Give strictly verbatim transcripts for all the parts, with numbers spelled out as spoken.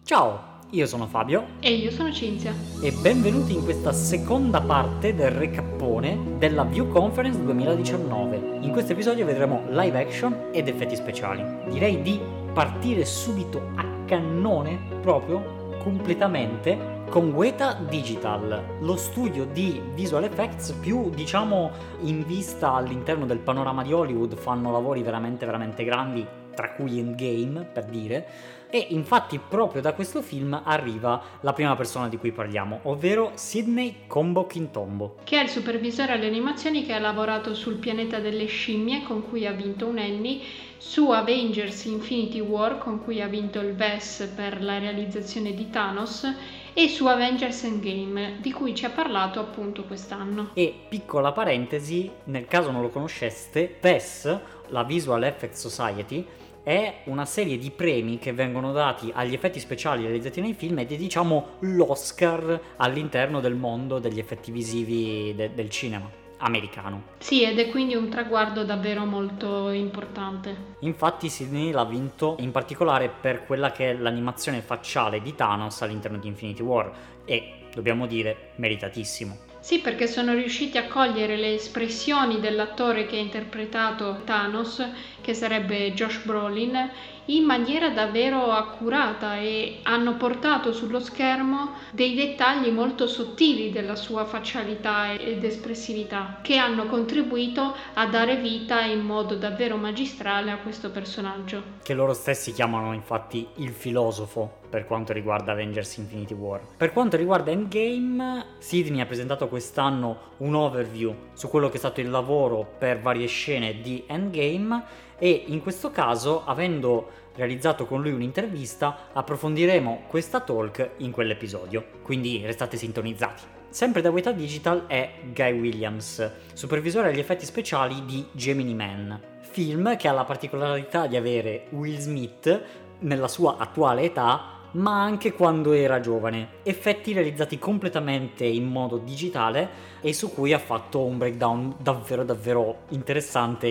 Ciao, io sono Fabio E io sono Cinzia. e benvenuti in questa seconda parte del recappone della View Conference duemiladiciannove. In questo episodio vedremo live action ed effetti speciali. Direi di partire subito a cannone, proprio, completamente, con Weta Digital, lo studio di visual effects più, diciamo, in vista all'interno del panorama di Hollywood. Fanno lavori veramente veramente grandi, tra cui Endgame, per dire, e infatti proprio da questo film arriva la prima persona di cui parliamo, ovvero Sidney Combo Kintombo, che è il supervisore alle animazioni che ha lavorato sul pianeta delle scimmie, con cui ha vinto un Emmy, su Avengers Infinity War, con cui ha vinto il V E S per la realizzazione di Thanos, e su Avengers Endgame, di cui ci ha parlato appunto quest'anno. E piccola parentesi, nel caso non lo conosceste, V E S, la Visual Effects Society, è una serie di premi che vengono dati agli effetti speciali realizzati nei film ed è, diciamo, l'Oscar all'interno del mondo degli effetti visivi de- del cinema americano. Sì, ed è quindi un traguardo davvero molto importante. Infatti Sidney l'ha vinto in particolare per quella che è l'animazione facciale di Thanos all'interno di Infinity War e, dobbiamo dire, meritatissimo. Sì, perché sono riusciti a cogliere le espressioni dell'attore che ha interpretato Thanos, che sarebbe Josh Brolin, in maniera davvero accurata e hanno portato sullo schermo dei dettagli molto sottili della sua faccialità ed espressività, che hanno contribuito a dare vita in modo davvero magistrale a questo personaggio. Che loro stessi chiamano infatti il filosofo per quanto riguarda Avengers Infinity War. Per quanto riguarda Endgame, Sidney ha presentato quest'anno un overview su quello che è stato il lavoro per varie scene di Endgame e in questo caso, avendo realizzato con lui un'intervista, approfondiremo questa talk in quell'episodio, quindi restate sintonizzati. Sempre da Weta Digital è Guy Williams, supervisore agli effetti speciali di Gemini Man, film che ha la particolarità di avere Will Smith nella sua attuale età, ma anche quando era giovane, effetti realizzati completamente in modo digitale e su cui ha fatto un breakdown davvero davvero interessante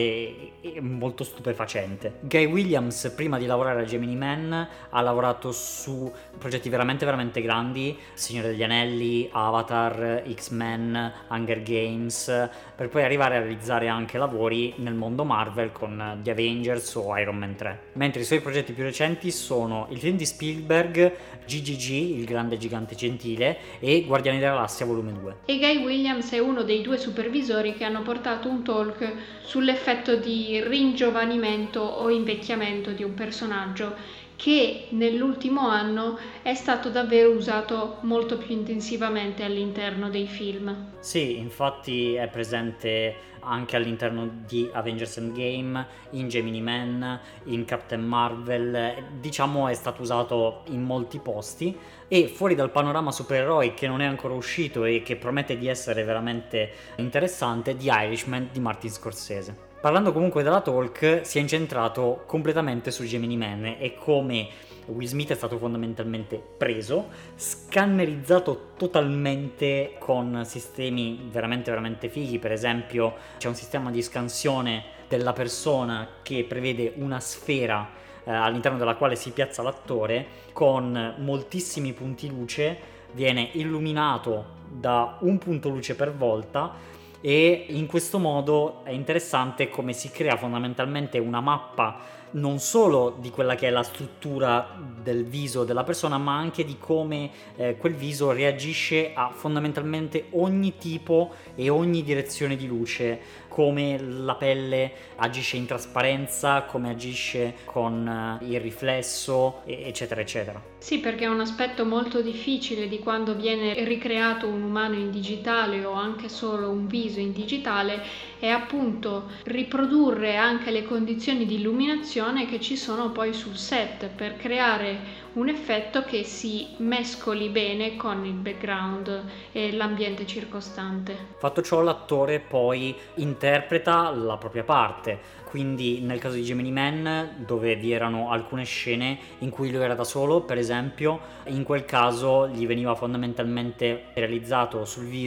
e molto stupefacente. Guy Williams, prima di lavorare a Gemini Man, ha lavorato su progetti veramente veramente grandi: Signore degli Anelli, Avatar, X-Men, Hunger Games, per poi arrivare a realizzare anche lavori nel mondo Marvel con The Avengers o Iron Man tre. Mentre i suoi progetti più recenti sono il film di Spielberg G G G, il grande gigante gentile, e Guardiani della Galassia volume due. E Guy Williams è uno dei due supervisori che hanno portato un talk sull'effetto di ringiovanimento o invecchiamento di un personaggio che nell'ultimo anno è stato davvero usato molto più intensivamente all'interno dei film. Sì, infatti è presente anche all'interno di Avengers Endgame, in Gemini Man, in Captain Marvel, diciamo è stato usato in molti posti. E fuori dal panorama supereroi, che non è ancora uscito e che promette di essere veramente interessante, The Irishman di Martin Scorsese. Parlando comunque della talk, si è incentrato completamente su Gemini Man e come Will Smith è stato fondamentalmente preso, scannerizzato totalmente con sistemi veramente veramente fighi. Per esempio c'è un sistema di scansione della persona che prevede una sfera eh, all'interno della quale si piazza l'attore con moltissimi punti luce, viene illuminato da un punto luce per volta e in questo modo è interessante come si crea fondamentalmente una mappa non solo di quella che è la struttura del viso della persona, ma anche di come eh, quel viso reagisce a fondamentalmente ogni tipo e ogni direzione di luce, come la pelle agisce in trasparenza, come agisce con eh, il riflesso, eccetera eccetera. Sì, perché è un aspetto molto difficile di quando viene ricreato un umano in digitale o anche solo un viso in digitale, è appunto riprodurre anche le condizioni di illuminazione che ci sono poi sul set per creare un effetto che si mescoli bene con il background e l'ambiente circostante. Fatto ciò, l'attore poi interpreta la propria parte, quindi nel caso di Gemini Man, dove vi erano alcune scene in cui lui era da solo, per esempio, in quel caso gli veniva fondamentalmente realizzato sul viso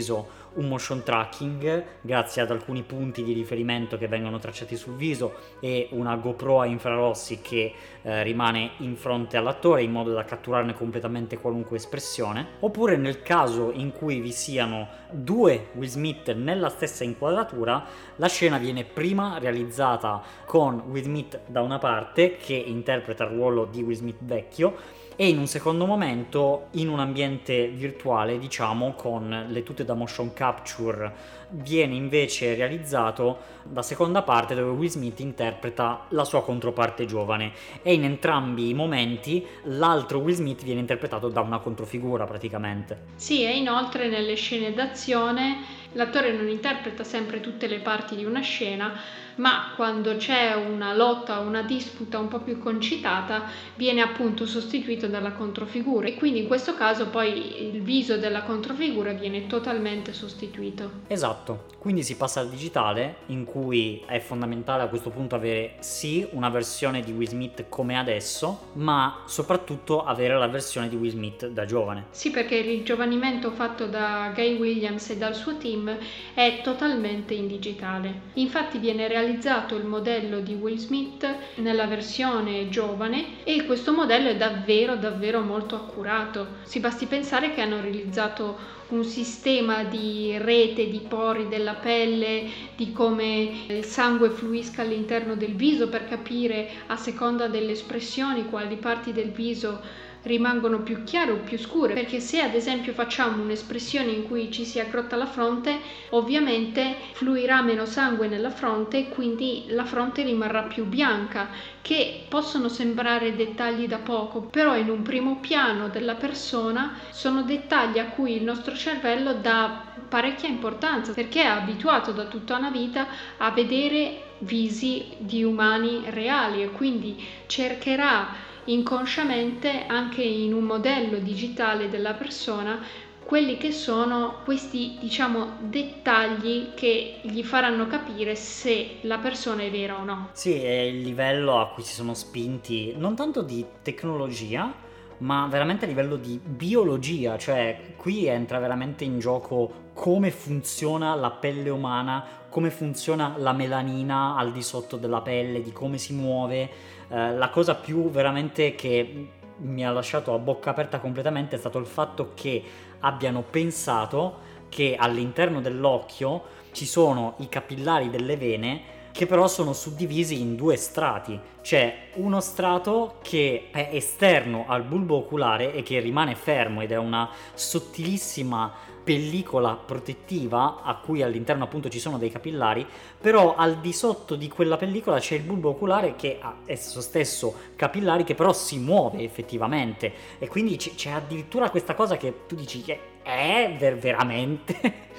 un motion tracking grazie ad alcuni punti di riferimento che vengono tracciati sul viso e una GoPro a infrarossi che eh, rimane in fronte all'attore in modo da catturarne completamente qualunque espressione. Oppure nel caso in cui vi siano due Will Smith nella stessa inquadratura, la scena viene prima realizzata con Will Smith da una parte che interpreta il ruolo di Will Smith vecchio e in un secondo momento in un ambiente virtuale, diciamo, con le tute da motion capture viene invece realizzato la seconda parte dove Will Smith interpreta la sua controparte giovane e in entrambi i momenti l'altro Will Smith viene interpretato da una controfigura praticamente. Sì, e inoltre nelle scene d'azione l'attore non interpreta sempre tutte le parti di una scena, ma quando c'è una lotta o una disputa un po' più concitata viene appunto sostituito dalla controfigura e quindi in questo caso poi il viso della controfigura viene totalmente sostituito. Esatto, quindi si passa al digitale in cui è fondamentale a questo punto avere sì una versione di Will Smith come adesso, ma soprattutto avere la versione di Will Smith da giovane. Sì, perché il ringiovanimento fatto da Guy Williams e dal suo team è totalmente in digitale. Infatti viene realizzato il modello di Will Smith nella versione giovane e questo modello è davvero davvero molto accurato. Si basti pensare che hanno realizzato un sistema di rete di pori della pelle, di come il sangue fluisca all'interno del viso per capire a seconda delle espressioni quali parti del viso rimangono più chiare o più scure, perché se ad esempio facciamo un'espressione in cui ci si aggrotta la fronte, ovviamente fluirà meno sangue nella fronte e quindi la fronte rimarrà più bianca, che possono sembrare dettagli da poco, però in un primo piano della persona sono dettagli a cui il nostro cervello dà parecchia importanza, perché è abituato da tutta una vita a vedere visi di umani reali e quindi cercherà inconsciamente anche in un modello digitale della persona quelli che sono questi, diciamo, dettagli che gli faranno capire se la persona è vera o no. Sì, è il livello a cui si sono spinti non tanto di tecnologia ma veramente a livello di biologia, cioè qui entra veramente in gioco come funziona la pelle umana, come funziona la melanina al di sotto della pelle, di come si muove. Eh, la cosa più veramente che mi ha lasciato a bocca aperta completamente è stato il fatto che abbiano pensato che all'interno dell'occhio ci sono i capillari delle vene che però sono suddivisi in due strati. C'è uno strato che è esterno al bulbo oculare e che rimane fermo ed è una sottilissima pellicola protettiva a cui all'interno appunto ci sono dei capillari, però al di sotto di quella pellicola c'è il bulbo oculare che ha esso stesso capillari che però si muove effettivamente e quindi c- c'è addirittura questa cosa che tu dici che è ver- veramente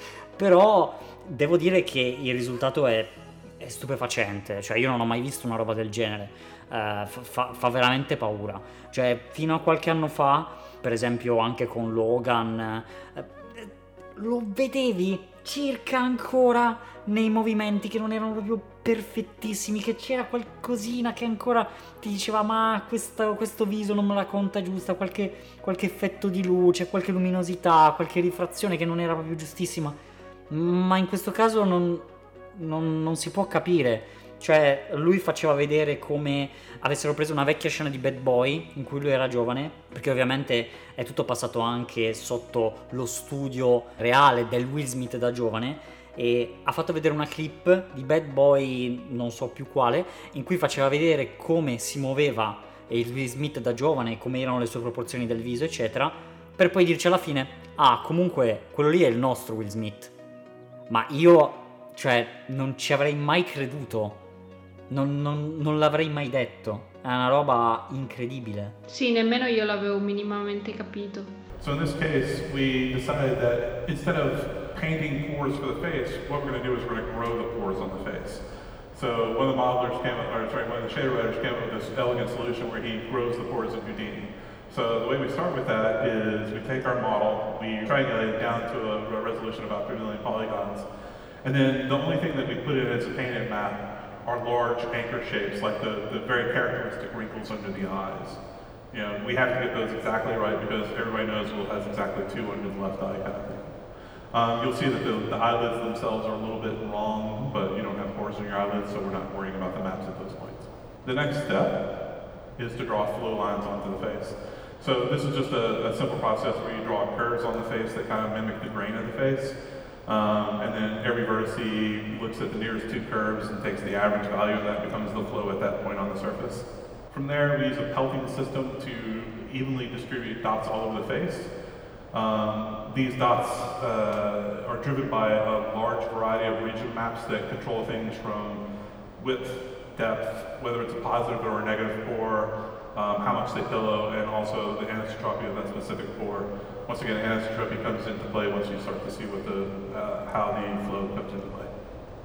però devo dire che il risultato è è stupefacente, cioè io non ho mai visto una roba del genere, uh, fa, fa veramente paura, cioè fino a qualche anno fa, per esempio anche con Logan, uh, lo vedevi circa ancora nei movimenti che non erano proprio perfettissimi, che c'era qualcosina che ancora ti diceva ma questo, questo viso non me la conta giusta, qualche, qualche effetto di luce, qualche luminosità, qualche rifrazione che non era proprio giustissima, ma in questo caso non... Non, non si può capire, cioè lui faceva vedere come avessero preso una vecchia scena di Bad Boy in cui lui era giovane, perché ovviamente è tutto passato anche sotto lo studio reale del Will Smith da giovane, e ha fatto vedere una clip di Bad Boy non so più quale in cui faceva vedere come si muoveva il Will Smith da giovane, come erano le sue proporzioni del viso eccetera, per poi dirci alla fine ah comunque quello lì è il nostro Will Smith. Ma io cioè non ci avrei mai creduto, non, non, non l'avrei mai detto, è una roba incredibile. Sì, nemmeno io l'avevo minimamente capito. So in this case we decided that instead of painting pores for the face, what we're going to do is we're going to grow the pores on the face. So one of the modelers came up, or sorry, one of the shader writers came up with this elegant solution where he grows the pores in Houdini. So the way we start with that is we take our model, we triangulate it down to a, a resolution of about three million polygons. And then the only thing that we put in as a painted map are large anchor shapes, like the, the very characteristic wrinkles under the eyes. You know, we have to get those exactly right because everybody knows Will has exactly two under the left eye kind of thing. Um, you'll see that the, the eyelids themselves are a little bit wrong, but you don't have pores in your eyelids, so we're not worrying about the maps at those points. The next step is to draw flow lines onto the face. So this is just a, a simple process where you draw curves on the face that kind of mimic the grain of the face. Um, and then every vertice looks at the nearest two curves and takes the average value, and that becomes the flow at that point on the surface. From there, we use a pelting system to evenly distribute dots all over the face. Um, these dots uh, are driven by a large variety of region maps that control things from width, depth, whether it's a positive or a negative pore, um, how much they pillow, and also the anisotropy of that specific pore. Once again, anisotropy comes into play once you start to see what the, uh, how the flow comes into play.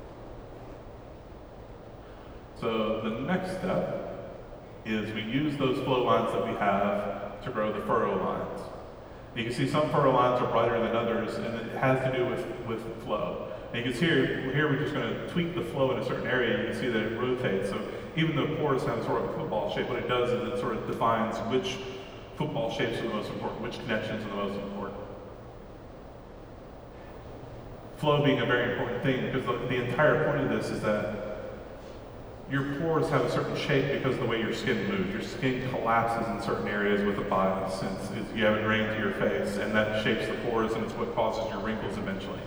So the next step is we use those flow lines that we have to grow the furrow lines. You can see some furrow lines are brighter than others, and it has to do with, with flow. And you can see here, here we're just going to tweak the flow in a certain area. You can see that it rotates. So even though pores have sort of a football shape, what it does is it sort of defines which football shapes are the most important, which connections are the most important. Flow being a very important thing, because the, the entire point of this is that your pores have a certain shape because of the way your skin moves. Your skin collapses in certain areas with a bias, since you have a grain to your face, and that shapes the pores, and it's what causes your wrinkles eventually.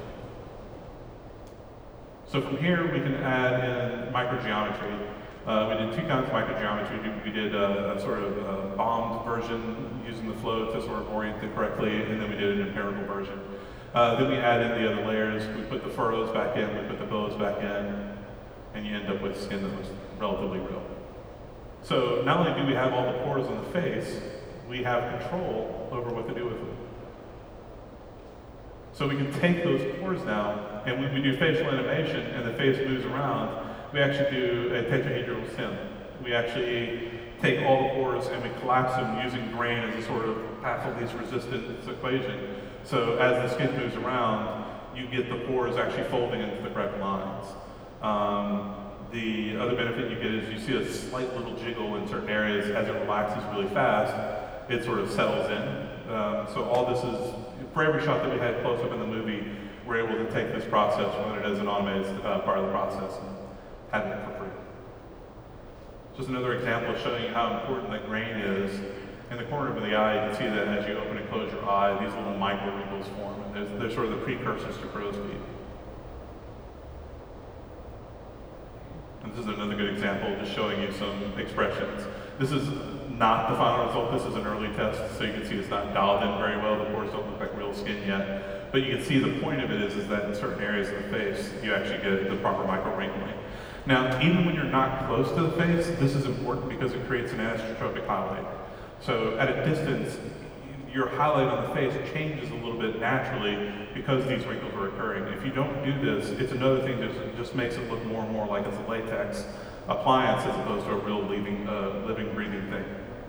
So from here, we can add in microgeometry. Uh, we did two kinds of microgeometry. We did a, a sort of a bombed version using the flow to sort of orient it correctly, and then we did an empirical version. Uh, then we add in the other layers. We put the furrows back in, we put the billows back in, and you end up with skin that looks relatively real. So not only do we have all the pores on the face, we have control over what to do with them. So we can take those pores now, and when we do facial animation and the face moves around, we actually do a tetrahedral sim. We actually take all the pores and we collapse them using grain as a sort of Paffel's resistance equation. So as the skin moves around, you get the pores actually folding into the correct lines. Um, the other benefit you get is you see a slight little jiggle in certain areas as it relaxes really fast. It sort of settles in. Um, so all this is, for every shot that we had close up in the movie, we're able to take this process, run it as an automated uh, part of the process, and have it for free. Just another example showing you how important that grain is. In the corner of the eye, you can see that as you open and close your eye, these little micro wrinkles form, and there's, they're sort of the precursors to crow's feet. And this is another good example, just showing you some expressions. This is not the final result. This is an early test, so you can see it's not dialed in very well. The pores don't look like real skin yet. But you can see the point of it is, is that in certain areas of the face, you actually get the proper micro wrinkling. Now, even when you're not close to the face, this is important because it creates an anisotropic highlight. So at a distance, your highlight on the face changes a little bit naturally because these wrinkles are occurring. If you don't do this, it's another thing that just makes it look more and more like it's a latex appliance as opposed to a real living, uh, living, breathing thing.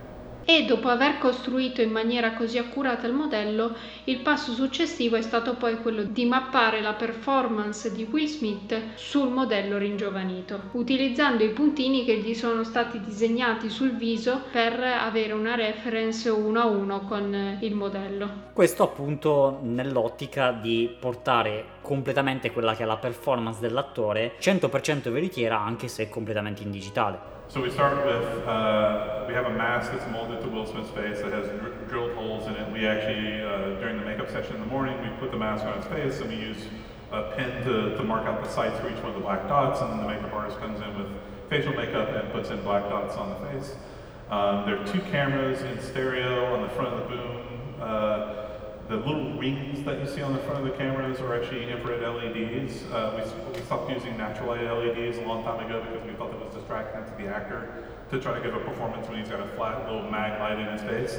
E dopo aver costruito in maniera così accurata il modello, il passo successivo è stato poi quello di mappare la performance di Will Smith sul modello ringiovanito, utilizzando i puntini che gli sono stati disegnati sul viso per avere una reference uno a uno con il modello. Questo appunto nell'ottica di portare completamente quella che è la performance dell'attore cento per cento veritiera, anche se completamente in digitale. So we start with, uh, we have a mask that's molded to Will Smith's face that has dr drilled holes in it. We actually, uh, during the makeup session in the morning, we put the mask on his face and we use a pen to, to mark out the sites for each one of the black dots, and then the makeup artist comes in with facial makeup and puts in black dots on the face. Um, there are two cameras in stereo on the front of the boom. Uh, The little rings that you see on the front of the cameras are actually infrared L E Ds. Uh, we, we stopped using natural light L E Ds a long time ago because we thought it was distracting to the actor to try to give a performance when he's got a flat little mag light in his face.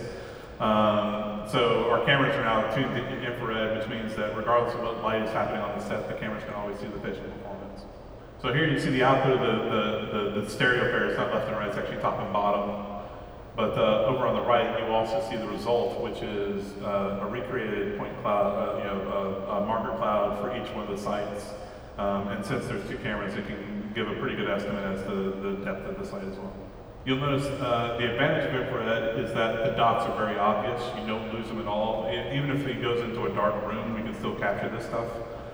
Um, so our cameras are now tuned to infrared, which means that regardless of what light is happening on the set, the cameras can always see the facial performance. So here you see the output of the, the, the, the stereo pair. It's not left and right, it's actually top and bottom. But uh, over on the right, you also see the result, which is uh, a recreated point cloud, uh, you know, a, a marker cloud for each one of the sites. Um, and since there's two cameras, it can give a pretty good estimate as to the depth of the site as well. You'll notice uh, the advantage of infrared is that the dots are very obvious. You don't lose them at all. Even if he goes into a dark room, we can still capture this stuff.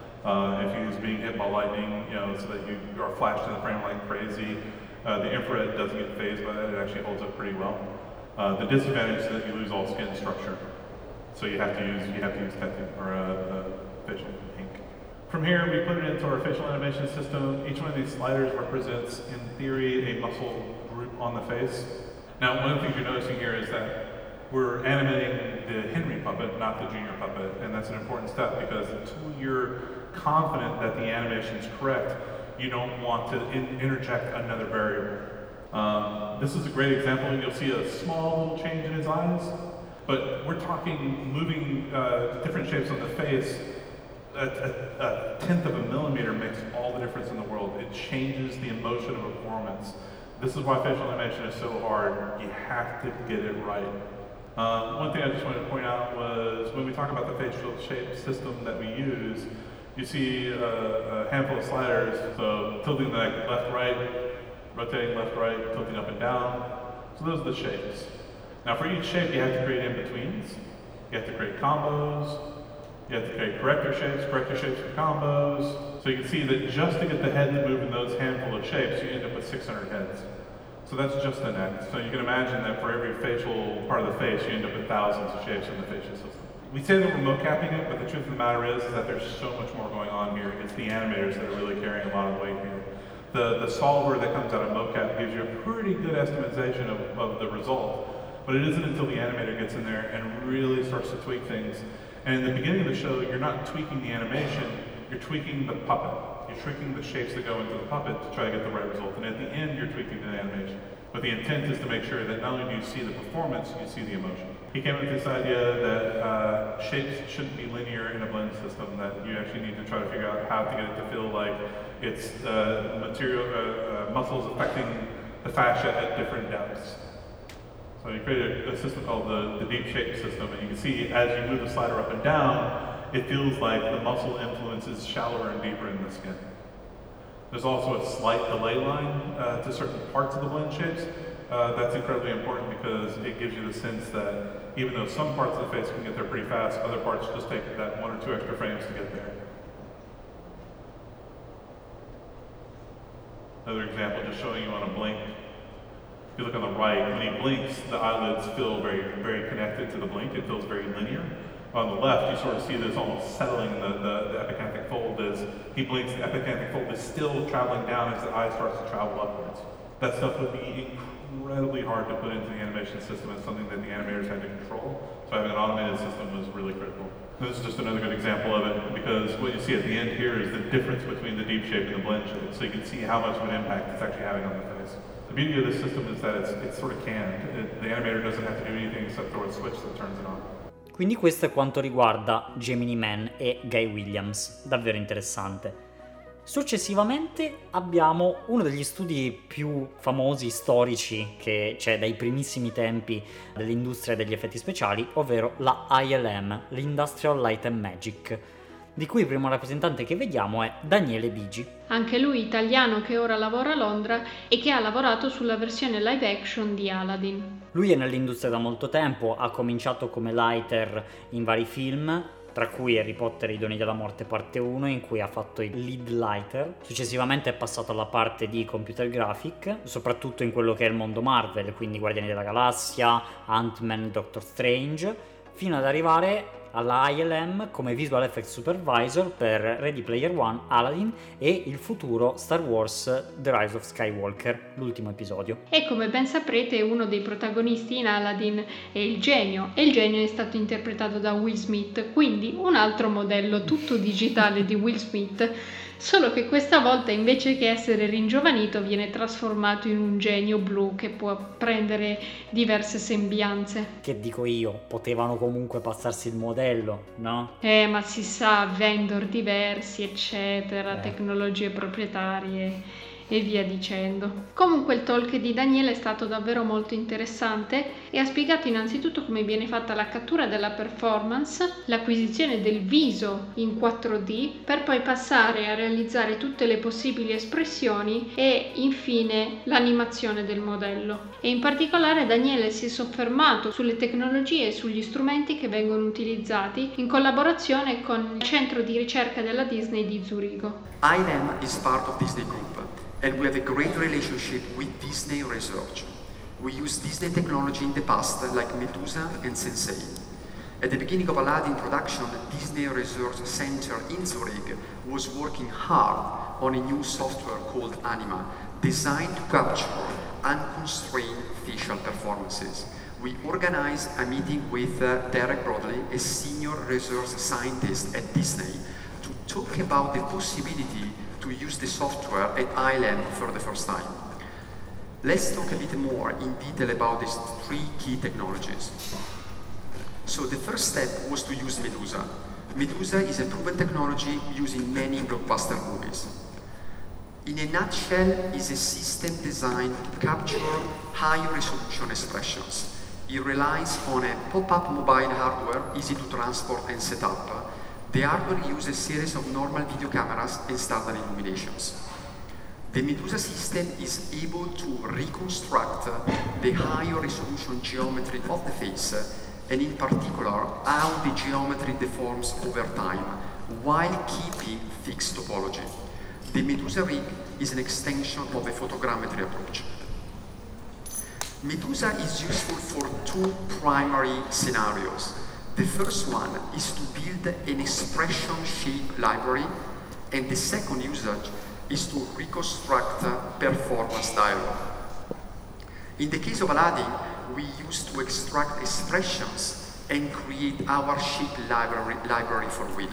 Uh, if he's being hit by lightning, you know, so that you are flashed in the frame like crazy, uh, the infrared doesn't get phased by that. It actually holds up pretty well. Uh, the disadvantage is that you lose all skin structure, so you have to use you have to use tattoo or uh, uh, facial ink. From here, we put it into our facial animation system. Each one of these sliders represents, in theory, a muscle group on the face. Now, one of the things you're noticing here is that we're animating the Henry puppet, not the Junior puppet, and that's an important step because until you're confident that the animation is correct, you don't want to in interject another variable. Um, this is a great example. You'll see a small little change in his eyes, but we're talking moving uh, different shapes on the face. A, a, a tenth of a millimeter makes all the difference in the world. It changes the emotion of a performance. This is why facial animation is so hard. You have to get it right. Um, one thing I just wanted to point out was when we talk about the facial shape system that we use, you see a, a handful of sliders, so tilting the neck left, right, rotating left, right, tilting up and down. So those are the shapes. Now for each shape you have to create in-betweens. You have to create combos. You have to create corrector shapes, corrector shapes for combos. So you can see that just to get the head to move in those handful of shapes, you end up with six hundred heads. So that's just the neck. So you can imagine that for every facial part of the face, you end up with thousands of shapes in the facial system. We say that we're mocapping it, but the truth of the matter is, is that there's so much more going on here. It's the animators that are really carrying a lot of weight here. The, the solver that comes out of mocap gives you a pretty good estimation of, of the result, but it isn't until the animator gets in there and really starts to tweak things. And in the beginning of the show, you're not tweaking the animation, you're tweaking the puppet. You're tweaking the shapes that go into the puppet to try to get the right result. And at the end, you're tweaking the animation. But the intent is to make sure that not only do you see the performance, you see the emotion. He came up with this idea that uh, shapes shouldn't be linear in a blend system, that you actually need to try to figure out how to get it to feel like it's uh, material, uh, uh, muscles affecting the fascia at different depths. So he created a, a system called the, the deep shape system, and you can see as you move the slider up and down, it feels like the muscle influence is shallower and deeper in the skin. There's also a slight delay line uh, to certain parts of the blend shapes. Uh, that's incredibly important because it gives you the sense that even though some parts of the face can get there pretty fast, other parts just take that one or two extra frames to get there. Another example, just showing you on a blink. If you look on the right, when he blinks, the eyelids feel very, very connected to the blink. It feels very linear. On the left, you sort of see this almost settling the, the, the epicanthic fold as he blinks. The epicanthic fold is still traveling down as the eye starts to travel upwards. That stuff would be incredibly hard to put into the animation system. It's something that the animators had to control. So having an automated system was really critical. This is just another good example of it because what you see at the end here is the difference between the deep shape and the blend shape. So you can see how much of an impact it's actually having on the face. The beauty of this system is that it's, it's sort of canned. It, the animator doesn't have to do anything except throw a switch that turns it on. Quindi questo è quanto riguarda Gemini Man e Guy Williams, davvero interessante. Successivamente abbiamo uno degli studi più famosi, storici, che c'è dai primissimi tempi dell'industria degli effetti speciali, ovvero la I L M, l'Industrial Light and Magic, di cui il primo rappresentante che vediamo è Daniele Bigi. Anche lui italiano che ora lavora a Londra e che ha lavorato sulla versione live action di Aladdin. Lui è nell'industria da molto tempo, ha cominciato come lighter in vari film, tra cui Harry Potter e i Doni della Morte parte uno, in cui ha fatto il lead lighter. Successivamente è passato alla parte di computer graphic, soprattutto in quello che è il mondo Marvel, quindi Guardiani della Galassia, Ant-Man, Doctor Strange, fino ad arrivare alla I L M come Visual Effects Supervisor per Ready Player One, Aladdin e il futuro Star Wars The Rise of Skywalker, l'ultimo episodio. E come ben saprete, uno dei protagonisti in Aladdin è il genio, e il genio è stato interpretato da Will Smith, quindi un altro modello tutto digitale di Will Smith, solo che questa volta invece che essere ringiovanito viene trasformato in un genio blu che può prendere diverse sembianze. Che dico io, potevano comunque passarsi il modello, no? Eh, ma si sa, vendor diversi, eccetera, eh. tecnologie proprietarie e via dicendo. Comunque il talk di Daniele è stato davvero molto interessante e ha spiegato innanzitutto come viene fatta la cattura della performance, l'acquisizione del viso in quattro D per poi passare a realizzare tutte le possibili espressioni e infine l'animazione del modello. E in particolare Daniele si è soffermato sulle tecnologie e sugli strumenti che vengono utilizzati in collaborazione con il centro di ricerca della Disney di Zurigo. I L M is part of Disney Group and we have a great relationship with Disney Research. We used Disney technology in the past like Medusa and Sensei. At the beginning of Aladdin production, Disney Research Center in Zurich was working hard on a new software called Anima, designed to capture unconstrained facial performances. We organized a meeting with uh, Derek Broadley, a senior research scientist at Disney, to talk about the possibility to use the software at I L M for the first time. Let's talk a bit more in detail about these three key technologies. So the first step was to use Medusa. Medusa is a proven technology used in many blockbuster movies. In a nutshell, it's a system designed to capture high-resolution expressions. It relies on a pop-up mobile hardware, easy to transport and set up. The hardware uses a series of normal video cameras and standard illuminations. The Medusa system is able to reconstruct the higher resolution geometry of the face, and in particular, how the geometry deforms over time, while keeping fixed topology. The Medusa rig is an extension of the photogrammetry approach. Medusa is useful for two primary scenarios. The first one is to build an expression shape library, and the second usage is to reconstruct performance dialogue. In the case of Aladdin, we used to extract expressions and create our shape library, library for Will.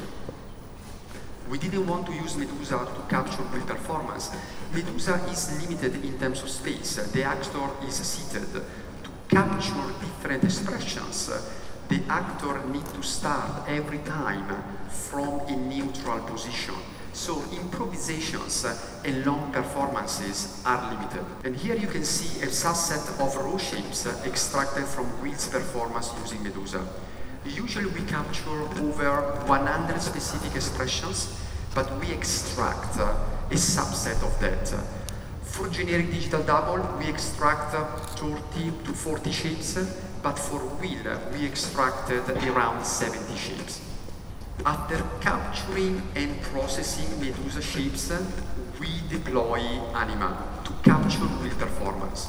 We didn't want to use Medusa to capture Will performance. Medusa is limited in terms of space. The actor is seated. To capture different expressions, the actor needs to start every time from a neutral position. So improvisations and long performances are limited. And here you can see a subset of raw shapes extracted from Will's performance using Medusa. Usually we capture over one hundred specific expressions, but we extract a subset of that. For generic digital double, we extract thirty to forty shapes, but for Will, we extracted around seventy shapes. After capturing and processing Medusa shapes, we deploy Anima to capture Will performance.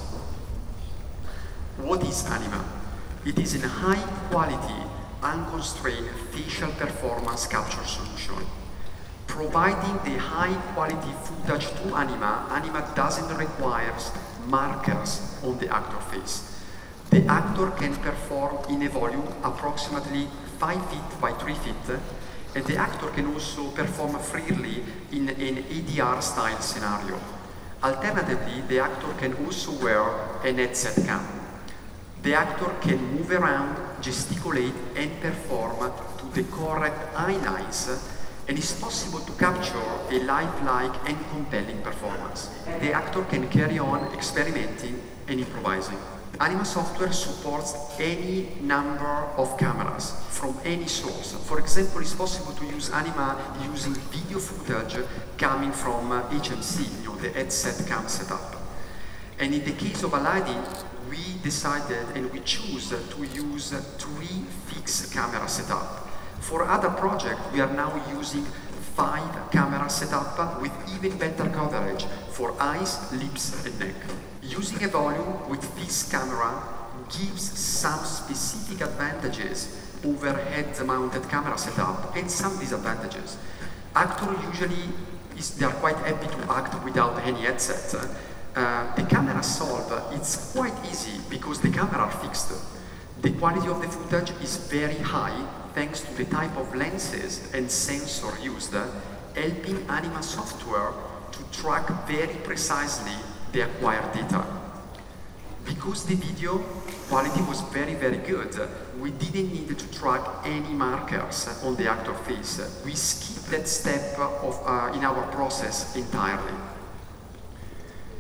What is Anima? It is a high-quality, unconstrained facial performance capture solution. Providing the high-quality footage to Anima, Anima doesn't require markers on the actor face. The actor can perform in a volume approximately five feet by three feet, and the actor can also perform freely in an A D R style scenario. Alternatively, the actor can also wear an headset cam. The actor can move around, gesticulate, and perform to the correct eye lines, and it's possible to capture a lifelike and compelling performance. The actor can carry on experimenting and improvising. Anima software supports any number of cameras from any source. For example, it's possible to use Anima using video footage coming from H M C, you know, the headset cam setup. And in the case of Aladdin, we decided and we choose to use three fixed camera setup. For other projects, we are now using five camera setup with even better coverage for eyes, lips, and neck. Using a volume with fixed camera gives some specific advantages over head-mounted camera setup and some disadvantages. Actors usually is, they are quite happy to act without any headset. Uh, the camera solve, it's quite easy because the camera are fixed. The quality of the footage is very high thanks to the type of lenses and sensor used, helping Anima software to track very precisely the acquired data. Because the video quality was very, very good, we didn't need to track any markers on the actor face. We skipped that step of, uh, in our process entirely.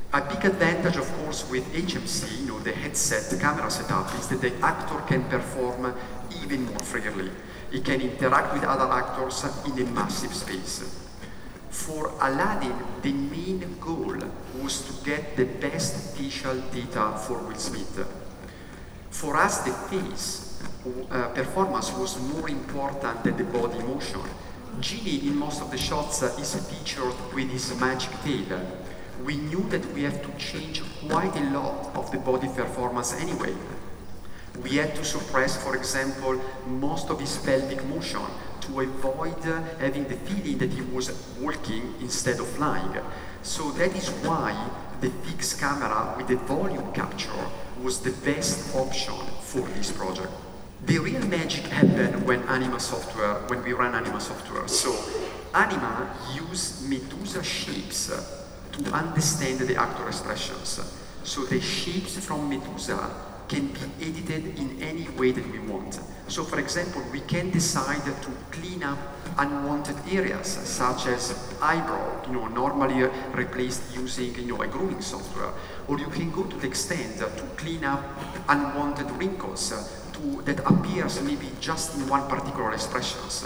A big advantage, of course, with H M C, you know, the headset camera setup, is that the actor can perform even more freely. He can interact with other actors in a massive space. For Aladdin, the main goal was to get the best facial data for Will Smith. For us, the face uh, performance was more important than the body motion. Genie, in most of the shots, uh, is featured with his magic tail. We knew that we have to change quite a lot of the body performance anyway. We had to suppress, for example, most of his pelvic motion to avoid uh, having the feeling that he was walking instead of flying. So that is why the fixed camera with the volume capture was the best option for this project. The real magic happened when Anima software, when we ran Anima software. So Anima used Medusa shapes to understand the actor expressions. So the shapes from Medusa can be edited in any way that we want. So for example, we can decide to clean up unwanted areas, such as eyebrow, you know, normally replaced using, you know, a grooming software. Or you can go to the extent to clean up unwanted wrinkles to, that appears maybe just in one particular expressions.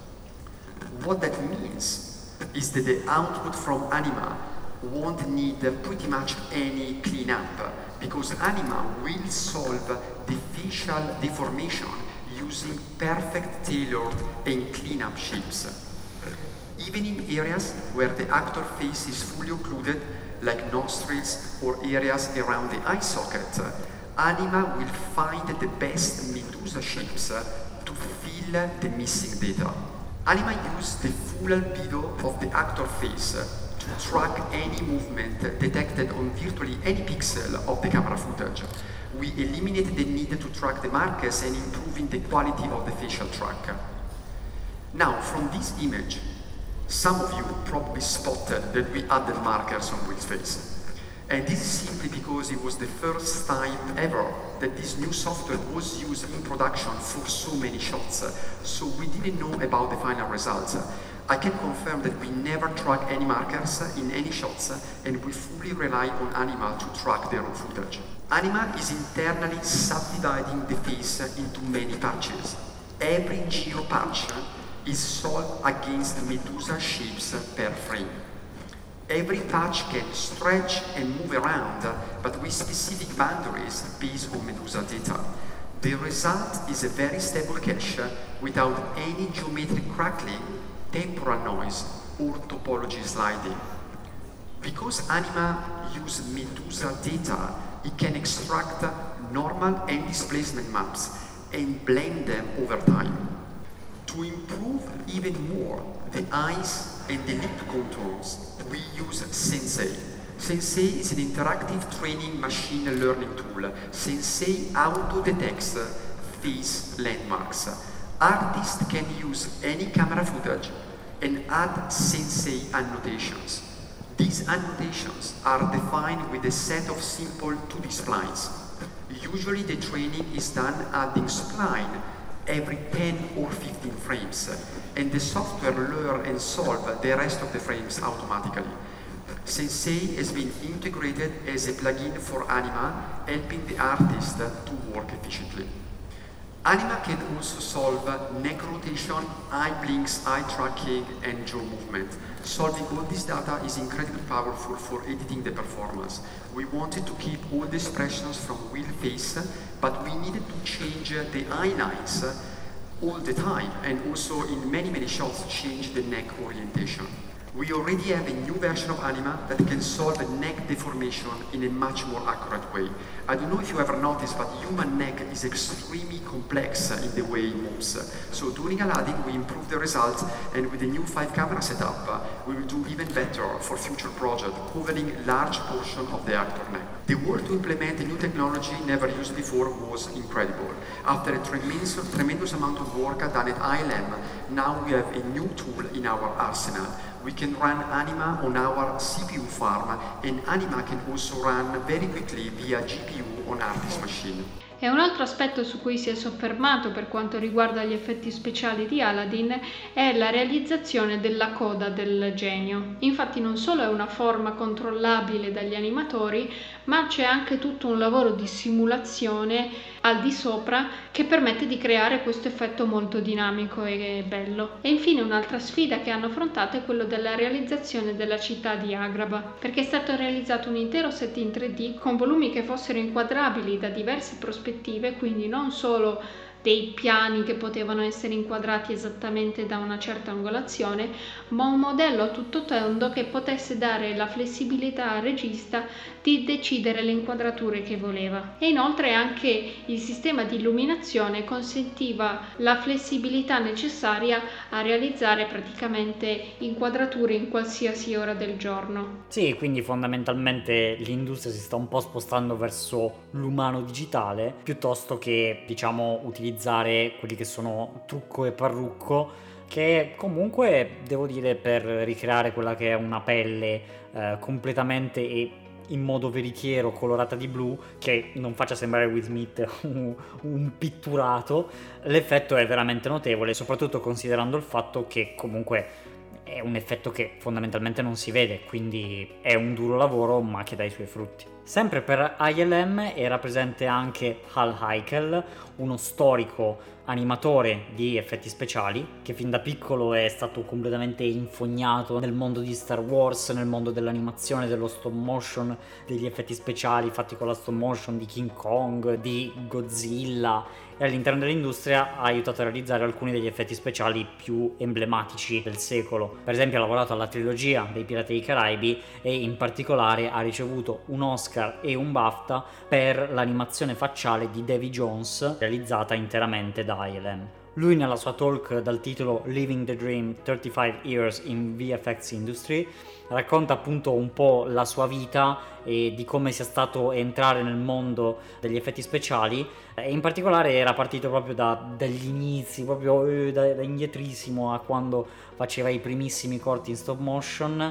What that means is that the output from Anima won't need pretty much any cleanup, because Anima will solve the facial deformation using perfect tailored and clean-up shapes. Even in areas where the actor face is fully occluded, like nostrils or areas around the eye socket, Anima will find the best Medusa shapes to fill the missing data. Anima uses the full albedo of the actor face to track any movement detected on virtually any pixel of the camera footage. We eliminated the need to track the markers and improving the quality of the facial track. Now, from this image, some of you probably spotted that we added markers on Will's face. And this is simply because it was the first time ever that this new software was used in production for so many shots. So we didn't know about the final results. I can confirm that we never track any markers in any shots, and we fully rely on Anima to track the raw footage. Anima is internally subdividing the face into many patches. Every geo patch is solved against Medusa shapes per frame. Every patch can stretch and move around, but with specific boundaries based on Medusa data. The result is a very stable cache without any geometric crackling, temporal noise, or topology sliding. Because Anima uses Medusa data, it can extract normal and displacement maps and blend them over time. To improve even more the eyes and the lip contours, we use Sensei. Sensei is an interactive training machine learning tool. Sensei auto-detects face landmarks. Artists can use any camera footage and add Sensei annotations. These annotations are defined with a set of simple two D splines. Usually the training is done adding spline every ten or fifteen frames, and the software learns and solves the rest of the frames automatically. Sensei has been integrated as a plugin for Anima, helping the artist to work efficiently. Anima can also solve neck rotation, eye blinks, eye tracking, and jaw movement. Solving all this data is incredibly powerful for editing the performance. We wanted to keep all the expressions from Will's face, but we needed to change the eye lines all the time, and also in many, many shots change the neck orientation. We already have a new version of Anima that can solve neck deformation in a much more accurate way. I don't know if you ever noticed, but human neck is extremely complex in the way it moves. So during Aladdin, we improved the results, and with the new five camera setup, we will do even better for future projects, covering large portion of the actor neck. The work to implement a new technology never used before was incredible. After a tremendous, tremendous amount of work done at I L M, now we have a new tool in our arsenal. We can run Anima on our C P U farm, and Anima can also run very quickly via G P U on Artist machine. E un altro aspetto su cui si è soffermato per quanto riguarda gli effetti speciali di Aladdin è la realizzazione della coda del genio. Infatti non solo è una forma controllabile dagli animatori, ma c'è anche tutto un lavoro di simulazione al di sopra che permette di creare questo effetto molto dinamico e bello. E infine un'altra sfida che hanno affrontato è quello della realizzazione della città di Agrabah, perché è stato realizzato un intero set in tre D con volumi che fossero inquadrabili da diverse prospettive, quindi non solo dei piani che potevano essere inquadrati esattamente da una certa angolazione, ma un modello a tutto tondo che potesse dare la flessibilità al regista di decidere le inquadrature che voleva. E inoltre anche il sistema di illuminazione consentiva la flessibilità necessaria a realizzare praticamente inquadrature in qualsiasi ora del giorno. Sì, quindi fondamentalmente l'industria si sta un po' spostando verso l'umano digitale piuttosto che, diciamo, utilizzare quelli che sono trucco e parrucco, che comunque devo dire per ricreare quella che è una pelle eh, completamente e in modo veritiero colorata di blu, che non faccia sembrare Will Smith un, un pitturato, l'effetto è veramente notevole, soprattutto considerando il fatto che comunque è un effetto che fondamentalmente non si vede, quindi è un duro lavoro ma che dà i suoi frutti. Sempre per I L M era presente anche Hal Heikel, uno storico animatore di effetti speciali che fin da piccolo è stato completamente infognato nel mondo di Star Wars, nel mondo dell'animazione, dello stop motion, degli effetti speciali fatti con la stop motion di King Kong, di Godzilla, e all'interno dell'industria ha aiutato a realizzare alcuni degli effetti speciali più emblematici del secolo. Per esempio ha lavorato alla trilogia dei Pirati dei Caraibi e in particolare ha ricevuto un Oscar e un BAFTA per l'animazione facciale di Davy Jones realizzata interamente da I L M. Lui nella sua talk dal titolo Living the Dream thirty-five years in V F X Industry racconta appunto un po' la sua vita e di come sia stato entrare nel mondo degli effetti speciali, e in particolare era partito proprio da, dagli inizi, proprio eh, da, da indietrissimo a quando faceva i primissimi corti in stop motion,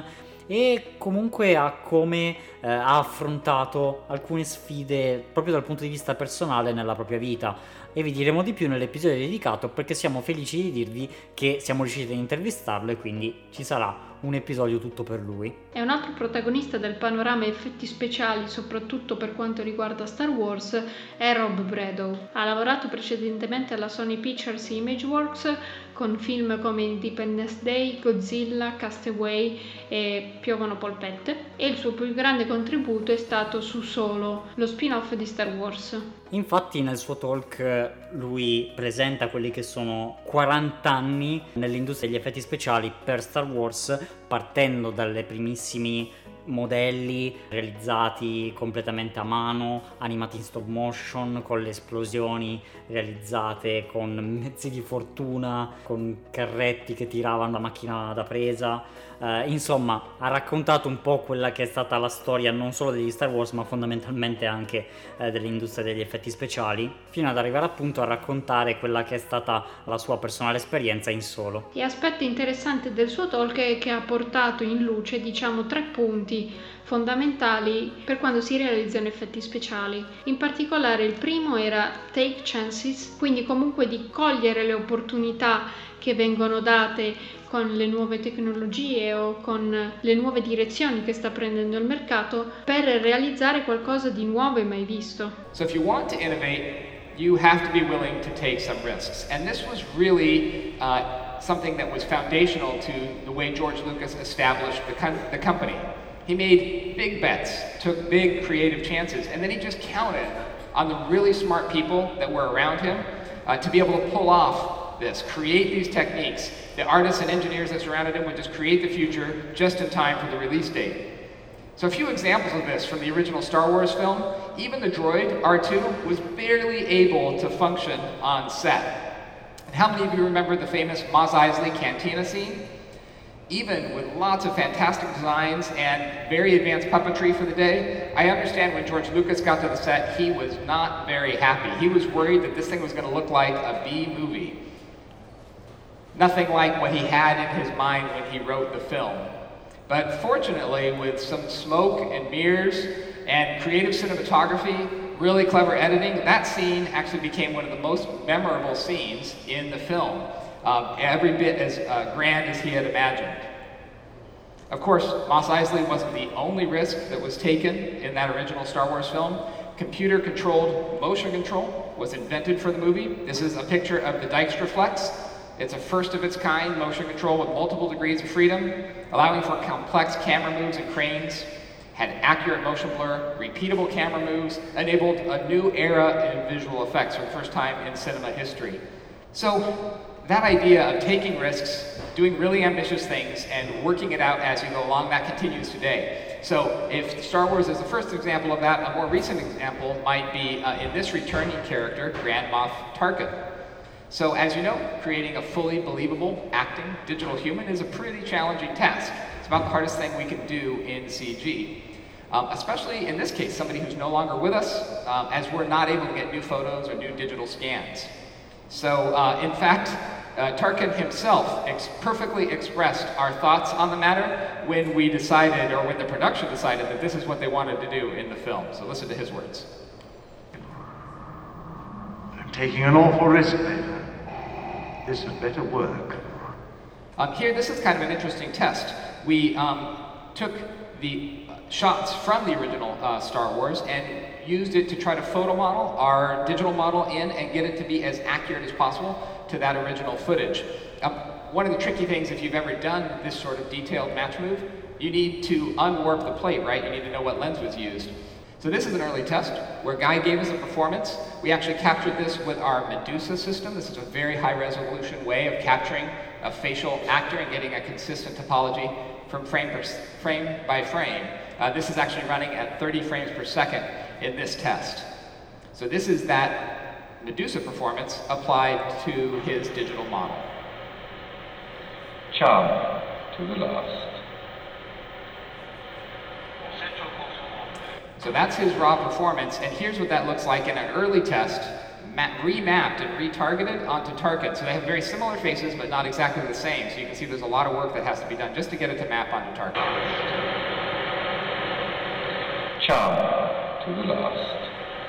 e comunque a come eh, ha affrontato alcune sfide proprio dal punto di vista personale nella propria vita. E vi diremo di più nell'episodio dedicato, perché siamo felici di dirvi che siamo riusciti ad intervistarlo e quindi ci sarà un episodio tutto per lui. È un altro protagonista del panorama effetti speciali, soprattutto per quanto riguarda Star Wars, è Rob Bredow. Ha lavorato precedentemente alla Sony Pictures Imageworks con film come Independence Day, Godzilla, Castaway e Piovono polpette, e il suo più grande contributo è stato su Solo, lo spin-off di Star Wars. Infatti nel suo talk lui presenta quelli che sono quaranta anni nell'industria degli effetti speciali per Star Wars, partendo dalle primissimi modelli realizzati completamente a mano, animati in stop motion, con le esplosioni realizzate con mezzi di fortuna, con carretti che tiravano la macchina da presa. Uh, insomma, ha raccontato un po' quella che è stata la storia non solo degli Star Wars ma fondamentalmente anche uh, dell'industria degli effetti speciali, fino ad arrivare appunto a raccontare quella che è stata la sua personale esperienza in Solo. E aspetto interessante del suo talk è che ha portato in luce, diciamo, tre punti fondamentali per quando si realizzano effetti speciali. In particolare il primo era take chances, quindi comunque di cogliere le opportunità che vengono date con le nuove tecnologie o con le nuove direzioni che sta prendendo il mercato per realizzare qualcosa di nuovo e mai visto. So if you want to innovate, you have to be willing to take some risks. And this was really uh, something that was foundational to the way George Lucas established the, com- the company. He made big bets, took big creative chances, and then he just counted on the really smart people that were around him uh, to be able to pull off this, create these techniques. The artists and engineers that surrounded him would just create the future just in time for the release date. So a few examples of this from the original Star Wars film. Even the droid, R two, was barely able to function on set. And how many of you remember the famous Mos Eisley cantina scene? Even with lots of fantastic designs and very advanced puppetry for the day, I understand when George Lucas got to the set, he was not very happy. He was worried that this thing was going to look like a B movie. Nothing like what he had in his mind when he wrote the film. But fortunately, with some smoke and mirrors and creative cinematography, really clever editing. That scene actually became one of the most memorable scenes in the film, um, every bit as uh, grand as he had imagined. Of course, Mos Eisley wasn't the only risk that was taken in that original Star Wars film. Computer-controlled motion control was invented for the movie. This is a picture of the Dijkstraflex. It's a first-of-its-kind motion control with multiple degrees of freedom, allowing for complex camera moves and cranes, had accurate motion blur, repeatable camera moves, enabled a new era in visual effects for the first time in cinema history. So that idea of taking risks, doing really ambitious things, and working it out as you go along, that continues today. So if Star Wars is the first example of that, a more recent example might be uh, in this returning character, Grand Moff Tarkin. So as you know, creating a fully believable acting digital human is a pretty challenging task. It's about the hardest thing we can do in C G. Um, especially in this case, somebody who's no longer with us, um, as we're not able to get new photos or new digital scans. So uh, in fact, uh, Tarkin himself ex perfectly expressed our thoughts on the matter when we decided, or when the production decided, that this is what they wanted to do in the film. So listen to his words. I'm taking an awful risk, Vader. This had better work. Um, here, this is kind of an interesting test. We um, took the shots from the original uh, Star Wars and used it to try to photo model our digital model in and get it to be as accurate as possible to that original footage. Um, one of the tricky things, if you've ever done this sort of detailed match move, you need to unwarp the plate, right? You need to know what lens was used. So this is an early test where Guy gave us a performance. We actually captured this with our Medusa system. This is a very high resolution way of capturing a facial actor and getting a consistent topology from frame, per, frame by frame. Uh, this is actually running at thirty frames per second in this test. So this is that Medusa performance applied to his digital model. Charm to the last. So that's his raw performance, and here's what that looks like in an early test, remapped and retargeted onto Tarkin. So they have very similar faces, but not exactly the same. So you can see there's a lot of work that has to be done just to get it to map onto Tarkin. Charm to the last.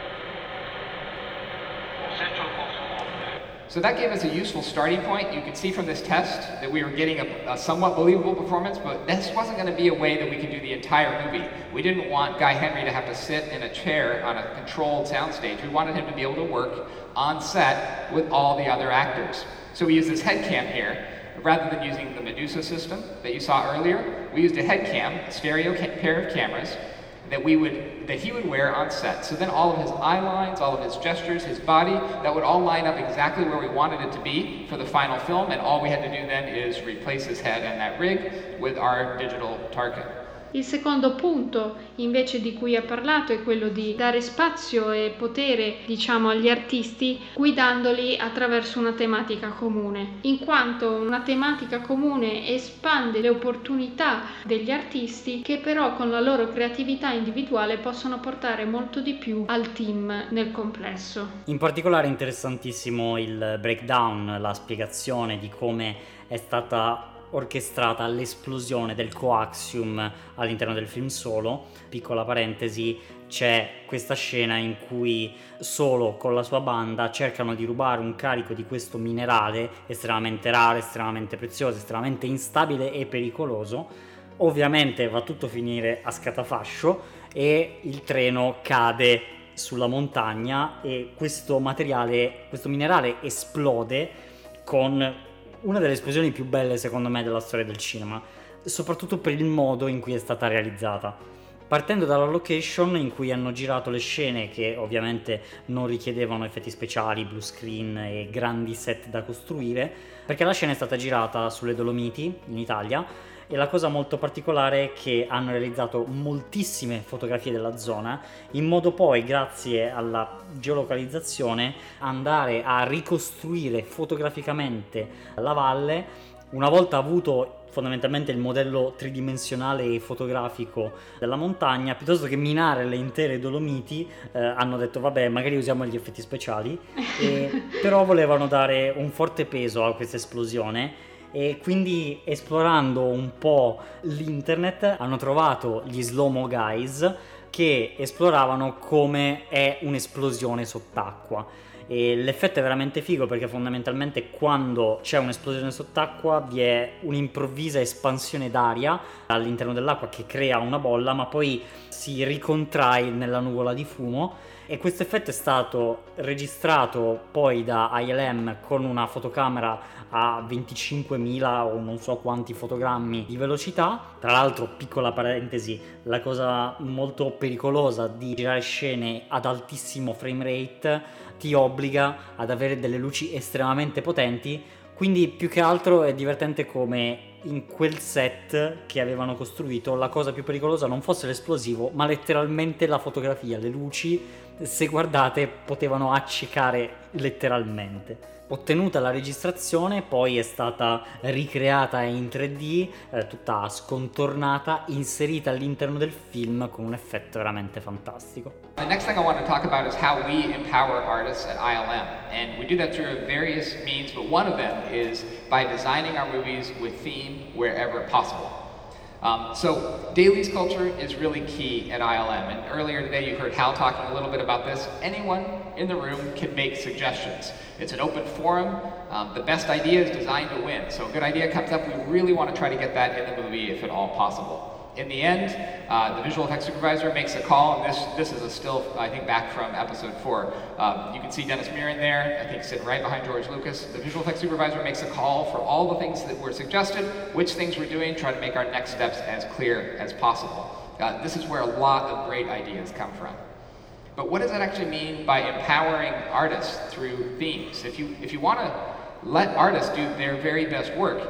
So that gave us a useful starting point. You can see from this test that we were getting a, a somewhat believable performance, but this wasn't going to be a way that we could do the entire movie. We didn't want Guy Henry to have to sit in a chair on a controlled soundstage. We wanted him to be able to work on set with all the other actors. So we used this head cam here. Rather than using the Medusa system that you saw earlier, we used a head cam, a stereo ca pair of cameras, that we would, that he would wear on set. So then all of his eye lines, all of his gestures, his body, that would all line up exactly where we wanted it to be for the final film, and all we had to do then is replace his head and that rig with our digital Tarkin. Il secondo punto invece di cui ha parlato è quello di dare spazio e potere, diciamo, agli artisti guidandoli attraverso una tematica comune, in quanto una tematica comune espande le opportunità degli artisti che però con la loro creatività individuale possono portare molto di più al team nel complesso. In particolare è interessantissimo il breakdown, la spiegazione di come è stata orchestrata l'esplosione del coaxium all'interno del film Solo. Piccola parentesi, c'è questa scena in cui Solo con la sua banda cercano di rubare un carico di questo minerale estremamente raro, estremamente prezioso, estremamente instabile e pericoloso. Ovviamente va tutto a finire a scatafascio e il treno cade sulla montagna e questo materiale, questo minerale esplode con una delle esplosioni più belle secondo me della storia del cinema, soprattutto per il modo in cui è stata realizzata. Partendo dalla location in cui hanno girato le scene che ovviamente non richiedevano effetti speciali, blue screen e grandi set da costruire, perché la scena è stata girata sulle Dolomiti in Italia e la cosa molto particolare è che hanno realizzato moltissime fotografie della zona in modo poi, grazie alla geolocalizzazione, andare a ricostruire fotograficamente la valle una volta avuto fondamentalmente il modello tridimensionale e fotografico della montagna. Piuttosto che minare le intere Dolomiti eh, hanno detto vabbè, magari usiamo gli effetti speciali e, però volevano dare un forte peso a questa esplosione e quindi, esplorando un po' l'internet, hanno trovato gli slow-mo guys che esploravano come è un'esplosione sott'acqua. E l'effetto è veramente figo perché fondamentalmente quando c'è un'esplosione sott'acqua vi è un'improvvisa espansione d'aria all'interno dell'acqua che crea una bolla, ma poi si ricontrae nella nuvola di fumo, e questo effetto è stato registrato poi da I L M con una fotocamera a venticinquemila o non so quanti fotogrammi di velocità. Tra l'altro, piccola parentesi, la cosa molto pericolosa di girare scene ad altissimo frame rate ti obbliga ad avere delle luci estremamente potenti, quindi più che altro è divertente come in quel set che avevano costruito la cosa più pericolosa non fosse l'esplosivo, ma letteralmente la fotografia. Le luci, se guardate, potevano accecare letteralmente. Ottenuta la registrazione, poi è stata ricreata in tre D, eh, tutta scontornata, inserita all'interno del film con un effetto veramente fantastico. The next thing I want to talk about is how we empower artists at I L M, and we do that through various means, but one of them is by designing our movies with theme wherever possible. Um, so dailies culture is really key at I L M, and earlier today you heard Hal talking a little bit about this. Anyone in the room can make suggestions. It's an open forum. Um, the best idea is designed to win. So a good idea comes up, we really want to try to get that in the movie if at all possible. In the end, uh, the visual effects supervisor makes a call, and this this is a still, I think, back from episode four. Um, you can see Dennis Muren there, I think sitting right behind George Lucas. The visual effects supervisor makes a call for all the things that were suggested, which things we're doing, try to make our next steps as clear as possible. Uh, this is where a lot of great ideas come from. But what does that actually mean by empowering artists through themes? If you, if you want to let artists do their very best work,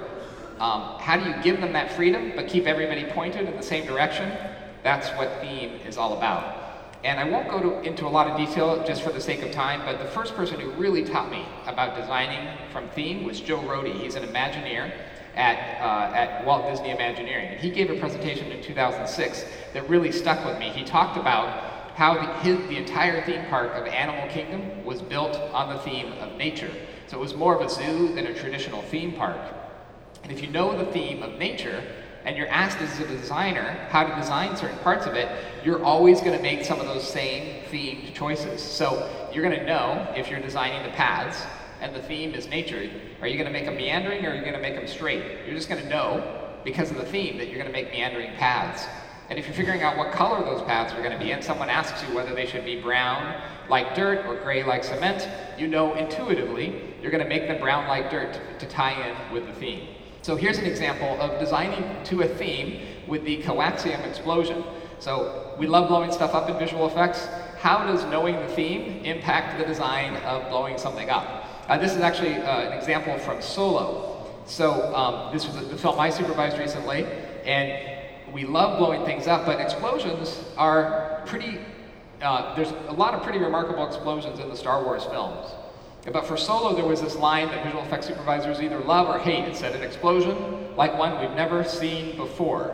Um, how do you give them that freedom but keep everybody pointed in the same direction? That's what theme is all about. And I won't go to, into a lot of detail just for the sake of time, but the first person who really taught me about designing from theme was Joe Rohde. He's an Imagineer at, uh, at Walt Disney Imagineering. And he gave a presentation in two thousand six that really stuck with me. He talked about how the, his, the entire theme park of Animal Kingdom was built on the theme of nature. So it was more of a zoo than a traditional theme park. And if you know the theme of nature, and you're asked as a designer how to design certain parts of it, you're always going to make some of those same themed choices. So you're going to know if you're designing the paths, and the theme is nature, are you going to make them meandering or are you going to make them straight? You're just going to know, because of the theme, that you're going to make meandering paths. And if you're figuring out what color those paths are going to be, and someone asks you whether they should be brown like dirt or gray like cement, you know intuitively you're going to make them brown like dirt to, to tie in with the theme. So here's an example of designing to a theme with the coaxium explosion. So we love blowing stuff up in visual effects. How does knowing the theme impact the design of blowing something up? Uh, this is actually uh, an example from Solo. So um, this was the film I supervised recently, and we love blowing things up, but explosions are pretty, uh, there's a lot of pretty remarkable explosions in the Star Wars films. But for Solo, there was this line that visual effects supervisors either love or hate. It said, an explosion like one we've never seen before.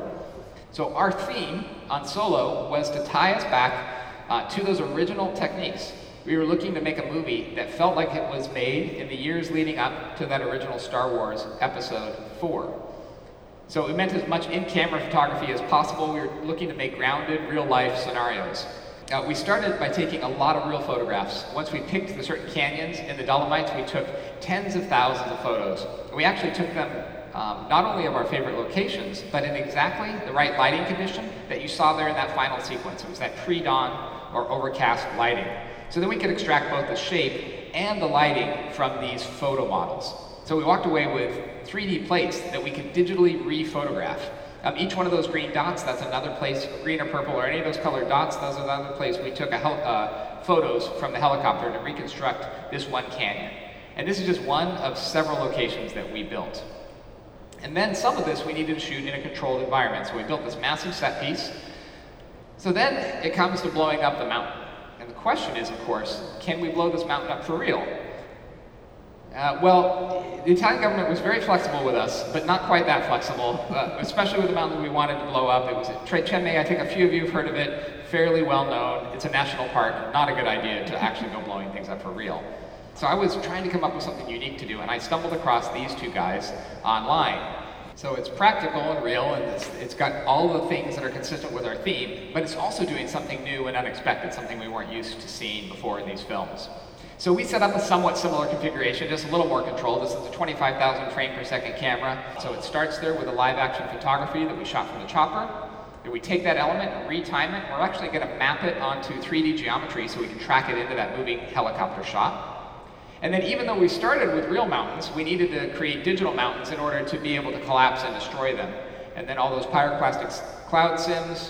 So our theme on Solo was to tie us back uh, to those original techniques. We were looking to make a movie that felt like it was made in the years leading up to that original Star Wars Episode four. So it meant as much in-camera photography as possible. We were looking to make grounded, real-life scenarios. Uh, we started by taking a lot of real photographs. Once we picked the certain canyons in the Dolomites, we took tens of thousands of photos. And we actually took them um, not only of our favorite locations, but in exactly the right lighting condition that you saw there in that final sequence. It was that pre-dawn or overcast lighting. So then we could extract both the shape and the lighting from these photo models. So we walked away with three D plates that we could digitally re-photograph. Um, each one of those green dots, that's another place, green or purple, or any of those colored dots, those are another place we took a hel uh, photos from the helicopter to reconstruct this one canyon. And this is just one of several locations that we built. And then some of this we needed to shoot in a controlled environment. So we built this massive set piece. So then it comes to blowing up the mountain. And the question is, of course, can we blow this mountain up for real? Uh, well, the Italian government was very flexible with us, but not quite that flexible, uh, especially with the mountain we wanted to blow up. It was at Tre Cemme. I think a few of you have heard of it, fairly well known. It's a national park, not a good idea to actually go blowing things up for real. So I was trying to come up with something unique to do, and I stumbled across these two guys online. So it's practical and real, and it's, it's got all the things that are consistent with our theme, but it's also doing something new and unexpected, something we weren't used to seeing before in these films. So we set up a somewhat similar configuration, just a little more control. This is a twenty-five thousand frame per second camera. So it starts there with a live action photography that we shot from the chopper. Then we take that element and retime it. We're actually going to map it onto three D geometry so we can track it into that moving helicopter shot. And then even though we started with real mountains, we needed to create digital mountains in order to be able to collapse and destroy them. And then all those pyroclastic cloud sims,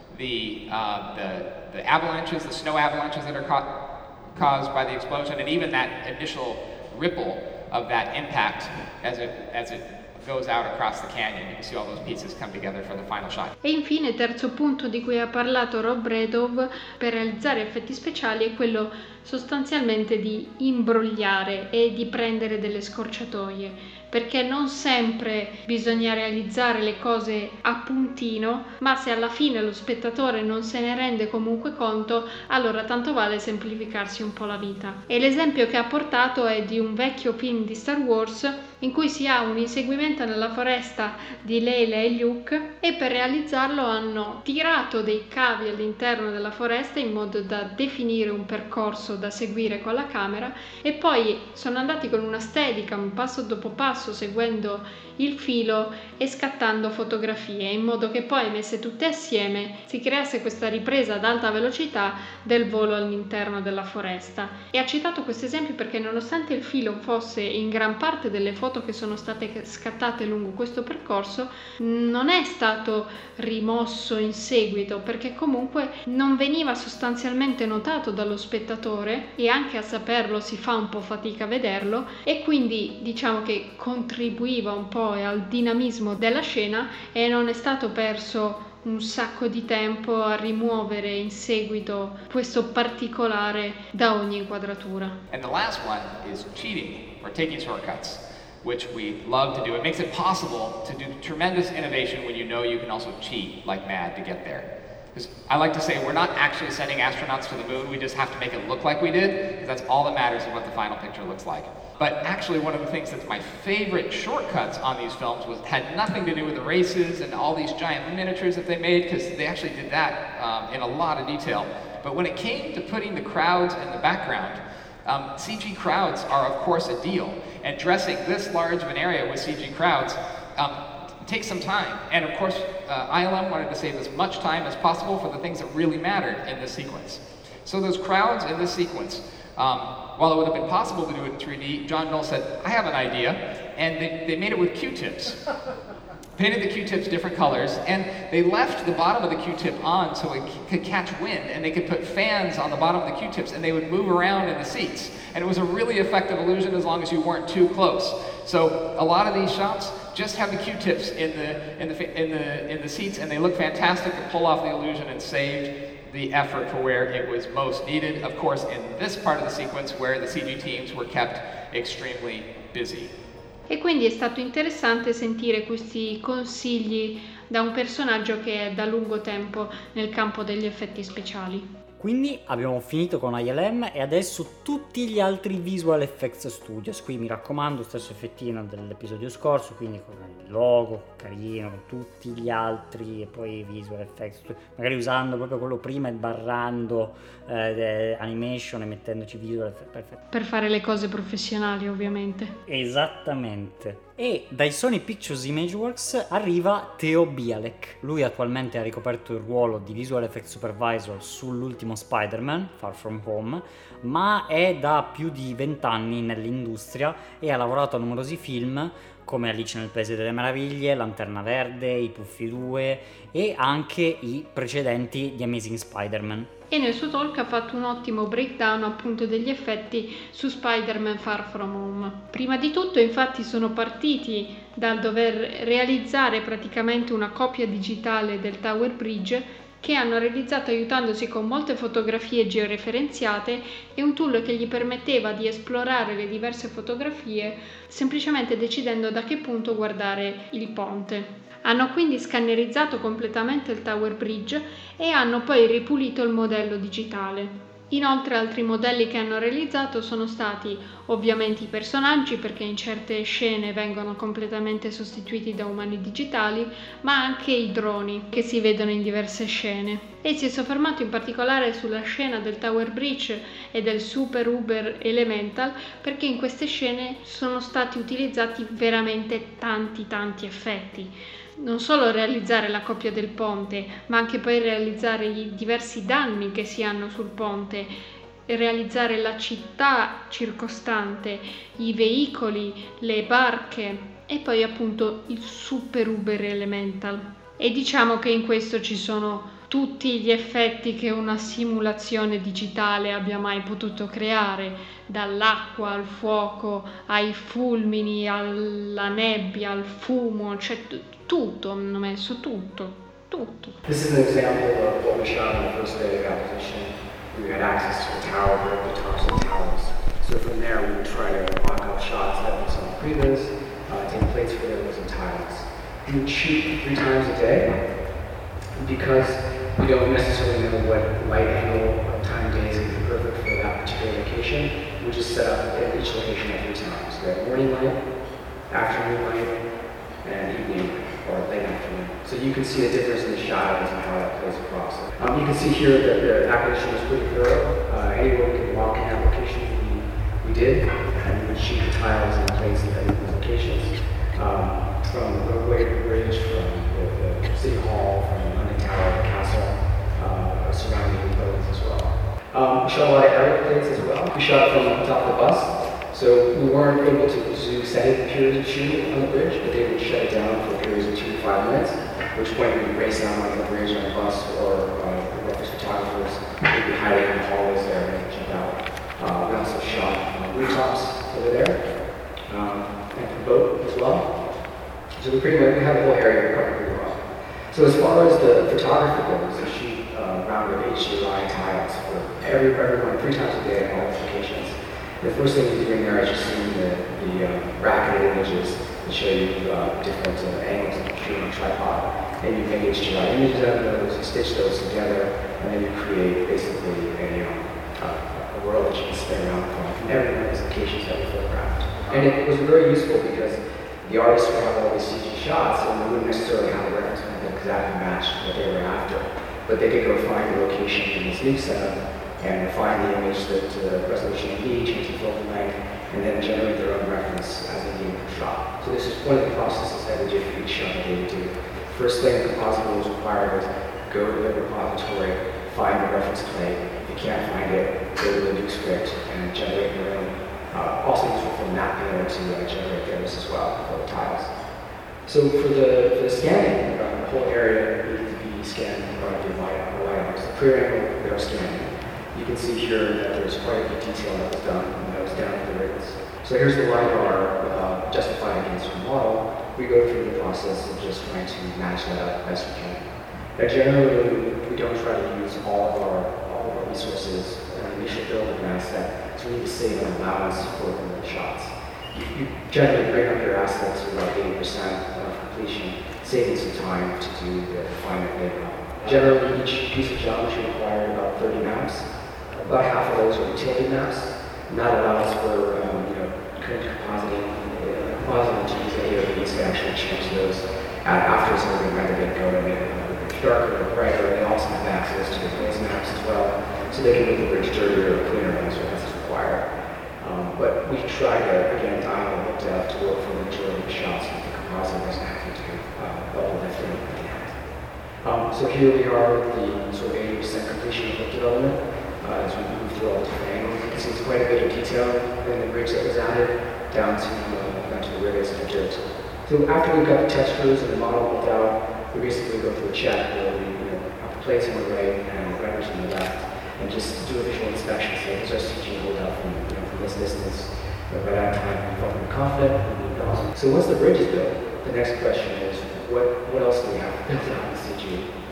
the, uh, the, the avalanches, the snow avalanches that are caught, caused by the explosion, and even that initial ripple of that impact as it, as it goes out across the canyon. You can see all those pieces come together for the final shot. E infine, terzo punto di cui ha parlato Rob Redov per realizzare effetti speciali è quello sostanzialmente di imbrogliare e di prendere delle scorciatoie, perché non sempre bisogna realizzare le cose a puntino, ma se alla fine lo spettatore non se ne rende comunque conto, allora tanto vale semplificarsi un po' la vita. E l'esempio che ha portato è di un vecchio film di Star Wars in cui si ha un inseguimento nella foresta di Leila e Luke, e per realizzarlo hanno tirato dei cavi all'interno della foresta in modo da definire un percorso da seguire con la camera, e poi sono andati con una Steadicam passo dopo passo seguendo il filo e scattando fotografie, in modo che poi messe tutte assieme si creasse questa ripresa ad alta velocità del volo all'interno della foresta. E ha citato questo esempio perché nonostante il filo fosse in gran parte delle foto che sono state scattate lungo questo percorso, non è stato rimosso in seguito, perché comunque non veniva sostanzialmente notato dallo spettatore, e anche a saperlo si fa un po' fatica a vederlo, e quindi diciamo che contribuiva un po' al dinamismo della scena, e non è stato perso un sacco di tempo a rimuovere in seguito questo particolare da ogni inquadratura. And the last one is cheating or taking shortcuts, which we love to do. It makes it possible to do tremendous innovation when you know you can also cheat like mad to get there. Because I like to say we're not actually sending astronauts to the moon, we just have to make it look like we did, because that's all that matters of what the final picture looks like. But actually one of the things that's my favorite shortcuts on these films was had nothing to do with the races and all these giant miniatures that they made, because they actually did that um, in a lot of detail. But when it came to putting the crowds in the background, um, C G crowds are of course a deal, and dressing this large of an area with C G crowds um, takes some time. And of course uh, I L M wanted to save as much time as possible for the things that really mattered in this sequence. So those crowds in this sequence, um, while it would have been possible to do it in three D, John Knoll said, I have an idea, and they, they made it with Q-tips. Painted the Q-tips different colors, and they left the bottom of the Q-tip on so it c- could catch wind, and they could put fans on the bottom of the Q-tips, and they would move around in the seats. And it was a really effective illusion as long as you weren't too close. So a lot of these shots just have the Q-tips in the, in the, in the, in the seats, and they look fantastic to pull off the illusion and saved the effort for where it was most needed. Of course, in this part of the sequence where the C G teams were kept extremely busy. E quindi è stato interessante sentire questi consigli da un personaggio che è da lungo tempo nel campo degli effetti speciali. Quindi abbiamo finito con I L M e adesso tutti gli altri Visual Effects Studios. Qui mi raccomando, stesso effettino dell'episodio scorso, quindi con il logo carino, con tutti gli altri, e poi Visual Effects, magari usando proprio quello prima e barrando eh, animation e mettendoci Visual Effects. Perfetto. Per fare le cose professionali, ovviamente. Esattamente. E dai Sony Pictures Imageworks arriva Theo Bialek. Lui attualmente ha ricoperto il ruolo di Visual Effects Supervisor sull'ultimo Spider-Man, Far From Home, ma è da più di vent'anni nell'industria e ha lavorato a numerosi film come Alice nel Paese delle Meraviglie, Lanterna Verde, I Puffi due e anche i precedenti di Amazing Spider-Man. E nel suo talk ha fatto un ottimo breakdown appunto degli effetti su Spider-Man Far From Home. Prima di tutto infatti sono partiti dal dover realizzare praticamente una copia digitale del Tower Bridge, che hanno realizzato aiutandosi con molte fotografie georeferenziate e un tool che gli permetteva di esplorare le diverse fotografie semplicemente decidendo da che punto guardare il ponte. Hanno quindi scannerizzato completamente il Tower Bridge e hanno poi ripulito il modello digitale. Inoltre altri modelli che hanno realizzato sono stati ovviamente i personaggi, perché in certe scene vengono completamente sostituiti da umani digitali, ma anche i droni che si vedono in diverse scene. E si è soffermato in particolare sulla scena del Tower Bridge e del Super Uber Elemental, perché in queste scene sono stati utilizzati veramente tanti tanti effetti. Non solo realizzare la coppia del ponte, ma anche poi realizzare i diversi danni che si hanno sul ponte, realizzare la città circostante, i veicoli, le barche e poi appunto il Super Uber Elemental. E diciamo che in questo ci sono tutti gli effetti che una simulazione digitale abbia mai potuto creare, dall'acqua al fuoco, ai fulmini, alla nebbia, al fumo, cioè t- tutto, hanno messo tutto, tutto. This is an example of what we shot on the first day of acquisition. We had access to the tower, the tops of the towers. So from there we would try to mock up shots that we saw in previous, uh, take place where there was some tiles. We would shoot three times a day because we don't necessarily know what light angle or time of day is going to be perfect for that particular location. We just set up at each location at three times. We have morning light, afternoon light, and evening or late afternoon. So you can see the difference in the shadows and how that plays across. Um, you can see here that the acquisition was pretty thorough. Uh, anywhere we could walk in application, we, we did, and we would shoot the tiles in place at these locations. Um, from the roadway to the bridge, from the, the city hall, from the London Tower, the castle, uh, surrounding buildings as well. Um, we shot a lot of aerial plates as well. We shot from the top of the bus, so we weren't able to do set periods of shooting on the bridge, but they would shut it down for periods of two to five minutes, at which point we would race down on the bridge on the bus, or uh, the reference photographers would be hiding in the hallways there and jump out. Uh, we also shot uh, rooftops over there, um, and the boat as well. So we pretty much we have the whole area covered pretty well. So as far as the photography goes, we shoot uh, round of H D R I tiles for every everyone three times a day at all locations. The first thing you're doing there is just seeing the, the uh, bracketed images that show you uh, different uh, angles of the shoot on a tripod. And you make H D R I images out of those, you stitch those together, and then you create basically a, um, uh, a world that you can spin around from every one of these locations that we photographed. And it was very useful because the artists would have all these C G shots, and they wouldn't necessarily have a reference point that exactly matched what they were after. But they could go find the location in this new setup and find the image that uh, resolution they need, change the focal length, and then generate their own reference as they need per shot. So this is one of the processes that we did for each shot that they would do. First thing the compositor was required was go to the repository, find the reference plate. If you can't find it, go to the new script and generate your own. Uh, also useful for mapping to uh, generate those as well for the tiles. So for the for the scanning, uh, the whole area needs to be scanned by the LiDAR. So pre-angle they're scanning. You can see here that there's quite a bit of detail that was done and that was down to the rigs. So here's the LiDAR uh, justified against the model. We go through the process of just trying to match that up best we can. Now generally we don't try to use all of our all of our resources in the initial build of an asset. It's really to save an allowance for the shots. You, you generally bring up your assets to about eighty percent of completion, saving some time to do the refinement later on. Generally, each piece of geometry required about thirty maps. About half of those are utility maps, and that allows for um, you know, current compositing. Uh, compositing to use any of these to actually change those after it's already rendered and go to make it darker or brighter. They also have access to the glaze maps as well, so they can make the bridge dirtier or cleaner as required. Um, but we try to, again, dial the look depth to work for the majority of the shots with the composite doesn't have to do uh, level lifting at the end. Um, so here we are with the sort of eighty percent completion of the development uh, as we move through all the different angles. You can see it's quite a bit of detail in the bridge that was added down to, uh, down to the rivets and the dirt. So after we've got the textures and the model built out, we basically go through a check where we you know, have the plates on the right and the renders on the left. And just do a visual inspection, say, is our C G hold out from, you know, from this distance? But by that time, we felt pretty confident, and moved on. So once the bridge is built, the next question is, what, what else do we have to build out in the C G?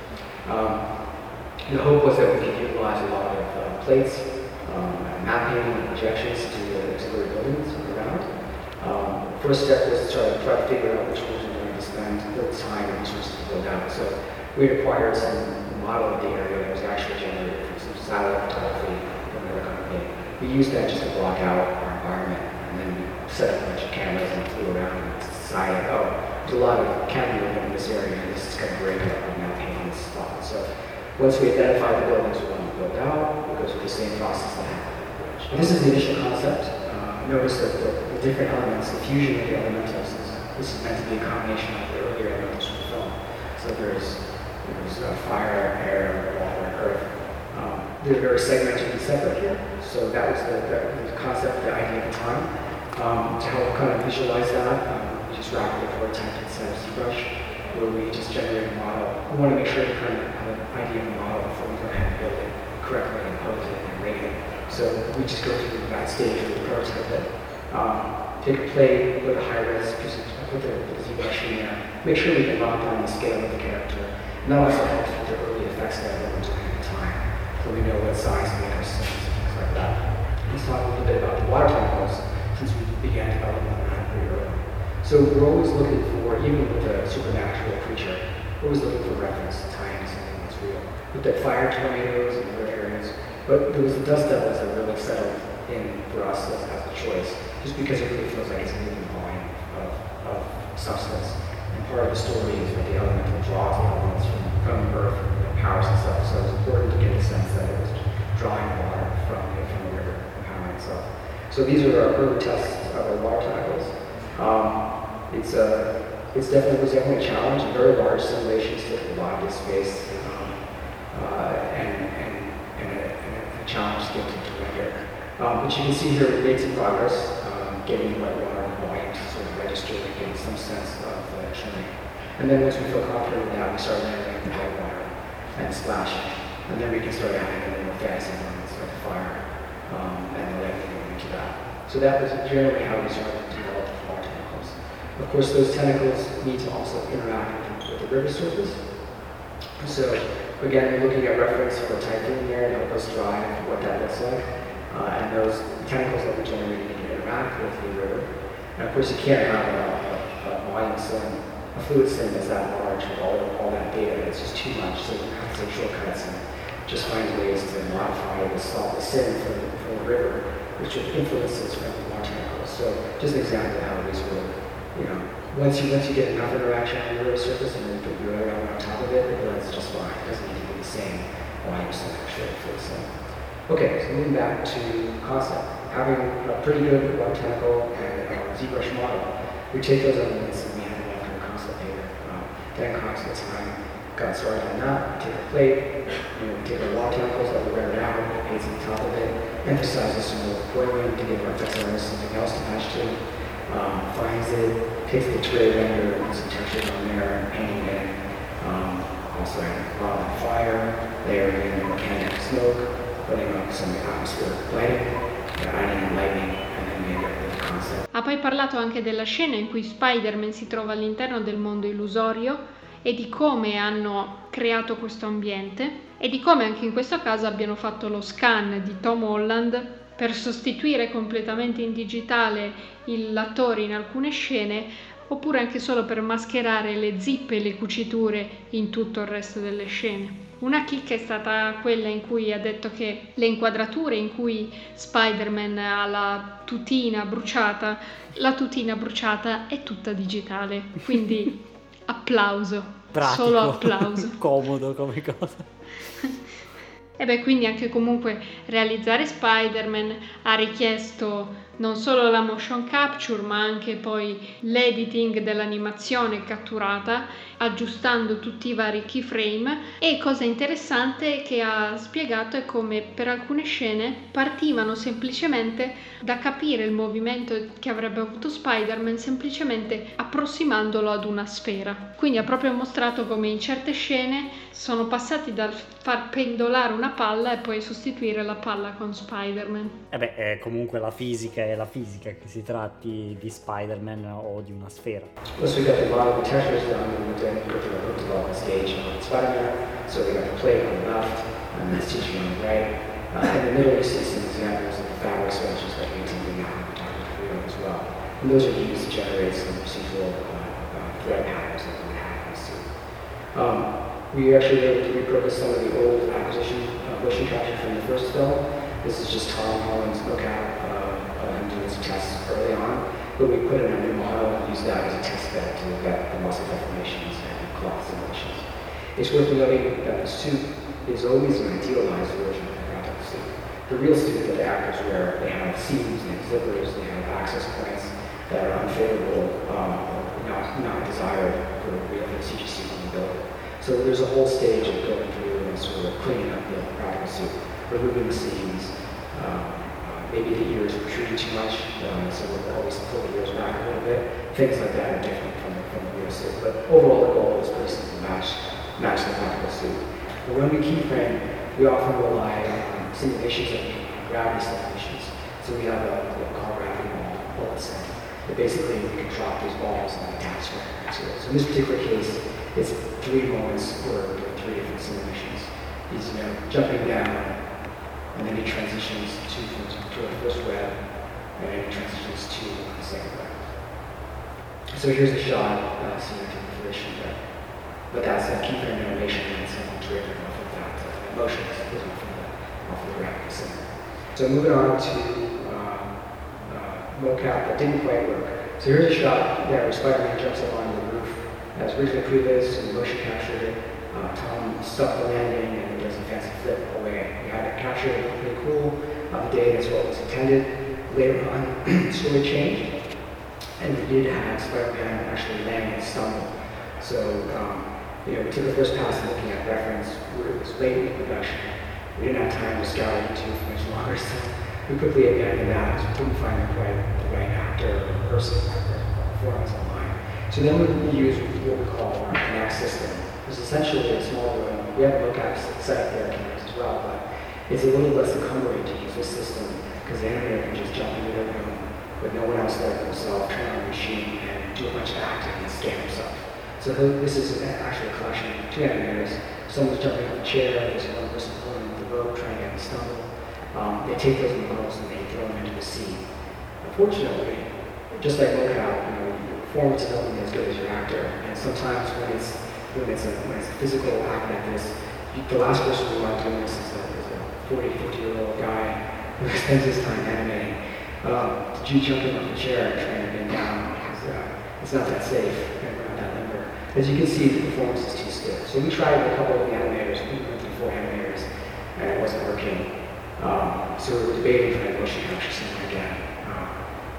Um, the hope was that we could utilize a lot of uh, plates, um, mapping, and projections to the auxiliary buildings around. Um, first step was to try, try to figure out which ones we're going to spend the time and resources to build out. So we acquired some model of the area that was actually generated from some satellite photography from another company. We used that just to block out our environment, and then we set up a bunch of cameras and flew around and decided, oh, there's a lot of camera movement in this area, and this is going to break up, we're now painting this spot. So once we identify the buildings we want to build out, we go through the same process that happened. And this is the initial concept. Uh, notice that the, the different elements, the fusion of the elementals, is, this is meant to be a combination of the earlier elementals from the film. So there's, there's uh, fire, air, water, and earth. Um, they're very segmented and separate here. So that was the, the, the concept, the idea at the time. Um, to help kind of visualize that, um, we just rapidly prototyped inside of ZBrush, where we just generate a model. We want to make sure we kind of have an idea of the model before we go ahead and build it correctly and pose it and rate it. So we just go through that stage where we prototype it. Um, take a plate with a high res, put the, the ZBrush in there, make sure we can lock down the scale of the character. And that also helps with the early effects that we're doing at the time, so we know what size to make our scenes and things like that. Let's talk a little bit about the water tentacles, since we began developing that pretty early. So we're always looking for, even with a supernatural creature, we're always looking for reference to tying to something that's real. We looked at fire tornadoes and other areas, but there was the dust devils that really settled in for us as, as a choice, just because it really feels like it's a moving volume of, of substance. And part of the story is that the elemental draws the elements from, from Earth and the powers itself. So it's important to get the sense that it was drawing water from, from the river and powering itself. So these are our early tests of our water tentacles. Um, it's a, it's definitely, it was definitely a challenge. A very large simulations took a lot of space, um, uh, and, and, and, a, and a challenge to get to render. Um, but you can see here we made some progress, um, getting the right water volume to sort of register and getting some sense of the trimming. And then once we feel confident with that, we start layering the white water and splashing. And then we can start adding a little more fancy elements like fire um, and the lightning into that. So that was generally how we started to develop water tentacles. Of course, those tentacles need to also interact with the river surface. So again, we're looking at reference for typhoon there to help us drive what that looks like. Uh, and those tentacles that we generate need to interact with the river. And of course, you can't have a, a, a volume sim, a fluid sim that's that large with all, all that data. It's just too much. So you have to take shortcuts and just find ways to modify the salt, the sim from the, from the river, which are influences from the water tentacles. So just an example of how these work. You know, once you once you get enough interaction on the river surface and then you put your other element on top of it, it blends just fine. It doesn't need to be the same volume sim actually for the sim. Okay, so moving back to concept. Having a pretty good water tentacle and a ZBrush model, we take those elements and we have them into a concept paper. Um, Dan Cox at the time got started on that. We take a plate, you know, we take our water tentacles that we rendered out, paints on top of it, emphasizes some more foiling to give our effects artist something else to match to. Um, finds it, takes the tray render, and some textures on there, and painting it. Um, also adding raw fire, layering in volcanic smoke, putting up some atmospheric lighting, adding lightning, and then we end up with the concept. Ha poi parlato anche della scena in cui Spider-Man si trova all'interno del mondo illusorio e di come hanno creato questo ambiente e di come anche in questo caso abbiano fatto lo scan di Tom Holland per sostituire completamente in digitale l'attore in alcune scene, oppure anche solo per mascherare le zip e le cuciture in tutto il resto delle scene. Una chicca è stata quella in cui ha detto che le inquadrature in cui Spider-Man ha la tutina bruciata, la tutina bruciata è tutta digitale, quindi applauso, Pratico, solo applauso. Comodo come cosa. E beh, quindi anche comunque realizzare Spider-Man ha richiesto non solo la motion capture, ma anche poi l'editing dell'animazione catturata, aggiustando tutti i vari keyframe. E cosa interessante che ha spiegato è come per alcune scene partivano semplicemente da capire il movimento che avrebbe avuto Spider-Man semplicemente approssimandolo ad una sfera. Quindi ha proprio mostrato come in certe scene sono passati dal far pendolare una palla e poi sostituire la palla con Spider-Man. E beh, è comunque la fisica è la fisica, che si tratti di Spider-Man o di una sfera. Plus we got the model textures down and we did put the development stage on Spider-Man. So we got the plate on the left and that's teaching on the right. Uh, in the middle you see some examples of the fabric swatches that we can do now as well. And those are used to generate some procedural uh, uh, thread patterns that we have in the suit. Um, we actually were able to repurpose some of the old acquisition uh, motion capture from the first film This is just Tom Holland's lookout uh, of him doing some tests early on, but we put in a new model and used that as a test bed to look at the muscle deformations and clot simulations. It's worth noting that the suit is always an idealized version of the practical suit. The real suit that the actors wear, they have seams, they have zippers, they have access points that are unfavorable, um, or not, not desired for the real C G suit on the building. So there's a whole stage of going through and sort of cleaning up the practical suit, removing the seams, um, uh, maybe the ears protruding too much, um, so we'll always pull the ears back a little bit. Things like that are different from the, from the real suit. But overall, the goal is pretty simple, match, match the practical suit. But when we keyframe, we often rely on simulations of gravity simulations. So we have a, what we call gravity ball, bullets, and basically we can drop these balls and attach them to it. So in this particular case, it's three moments where we're doing three different simulations. He's, you know, jumping down, and then he transitions to, to the first web, and then he transitions to the second web. So here's a shot, uh, seen into the fruition there. But that's a keyframe animation, and it's driven off of that uh, emotion that goes off of the, off of the graphic center. So moving on to uh, uh, mocap that didn't quite work. So here's a shot there where Spider-Man jumps up onto the roof. As originally previous, and motion captured it. Uh, Tom stuck the landing and does a fancy flip away. We had it captured, it looked pretty cool. Uh, the day that's what was intended. Later on, the story changed, and we did have Spider-Man actually land and stumble. So, um, you know, we took the first pass looking at reference. It was late in production. We didn't have time to scour YouTube for much longer, so we quickly abandoned that because we couldn't find the right, the right actor or person for us online. So then we use what we call our Connect system. It's essentially a small room. We have a lookout set up there cameras as well, but it's a little less encumbering to use this system because the animator can just jump into their room with no one else there but himself, turn on the machine, and do a bunch of acting and scan himself. So this is actually a collection of two animators. Someone's jumping off a chair, there's one person pulling the rope, trying to get him stumble. Um, they take those models and they throw them into the scene. Unfortunately, just like lookout, you know, your performance is only as good as your actor. And sometimes when it's when it's a, when it's a physical act like this, you, the last person we want doing this is a, is a forty, fifty year old guy who spends his time animating. Um, did you jump in off the chair and trying to bend down? Because uh, it's not that safe and we're not that limber. As you can see, the performance is too stiff. So we tried with a couple of the animators, we went through four animators, and it wasn't working. Um, so we were debating for that motion capture system again. Uh,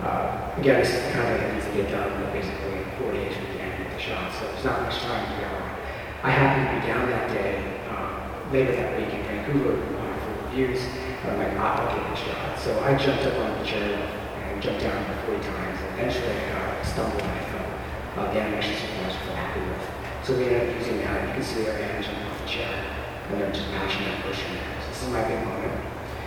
uh, again, it's kind of easy to get done, but basically forty-eight should be animate the shot, so there's not much time to go. I happened to be down that day, um, later that week in Vancouver uh, for reviews. I'm like, ah, I'll get this shot. So I jumped up on the chair and jumped down about forty times, and eventually I uh, stumbled and I fell. Uh, the animation supervisor felt happy with. So we ended up using that. You can see our hand jumping off the chair, and then just matching that motion. So this is my big moment.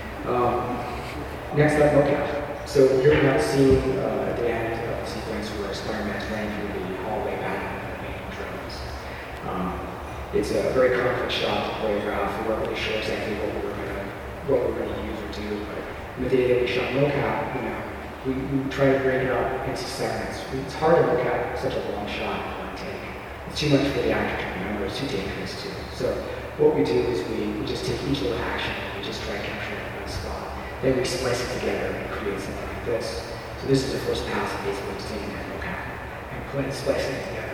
Um, next up, mocap. So here we have a scene uh, at the end of the sequence where Spider-Man's running through the hallway back of the main drones. Um, it's a very complex shot to choreograph. We weren't really sure exactly what we were gonna what we were gonna use or do, but in the day that we shot mocap, you know, we, we try to break it up into segments. It's hard to mocap such a long shot in one take. It's too much for the actor to remember. It's too dangerous too. So what we do is we, we just take each little action and we just try to capture it in one spot. Then we splice it together and create something like this. So this is the first pass of basically just taking that mocap and putting it, splicing it together.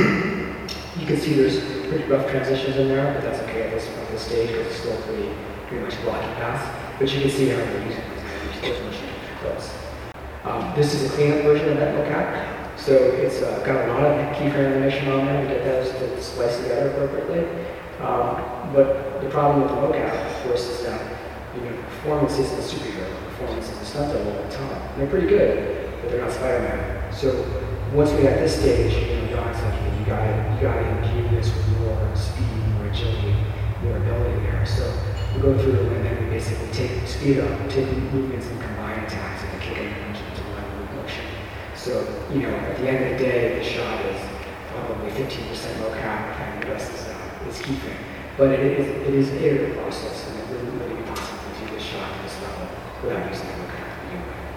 You can see there's pretty rough transitions in there, but that's okay at this, at this stage because it's still pretty, pretty much blocky pass. But you can see how we're using those motion capture clips. Um, this is a cleanup version of that mocap. So it's uh, got a lot of keyframe animation on there to get those to splice together appropriately. Um, but the problem with the mocap, of course, is that you know, performance isn't a superhero. Performance is a stunt double all the time. And they're pretty good, but they're not Spider-Man. So once we got this stage, you know, Don's like, hey, you gotta, you gotta impede this with more speed, more agility, more ability there. So we go through and then we basically take speed up, take movements and combine attacks and kick it into one move motion. So, you know, at the end of the day, the shot is probably fifteen percent mocap and the rest is, uh, is keyframe. But it is, it is an iterative process and it wouldn't really be possible to do this shot at this level without using the mocap to begin with.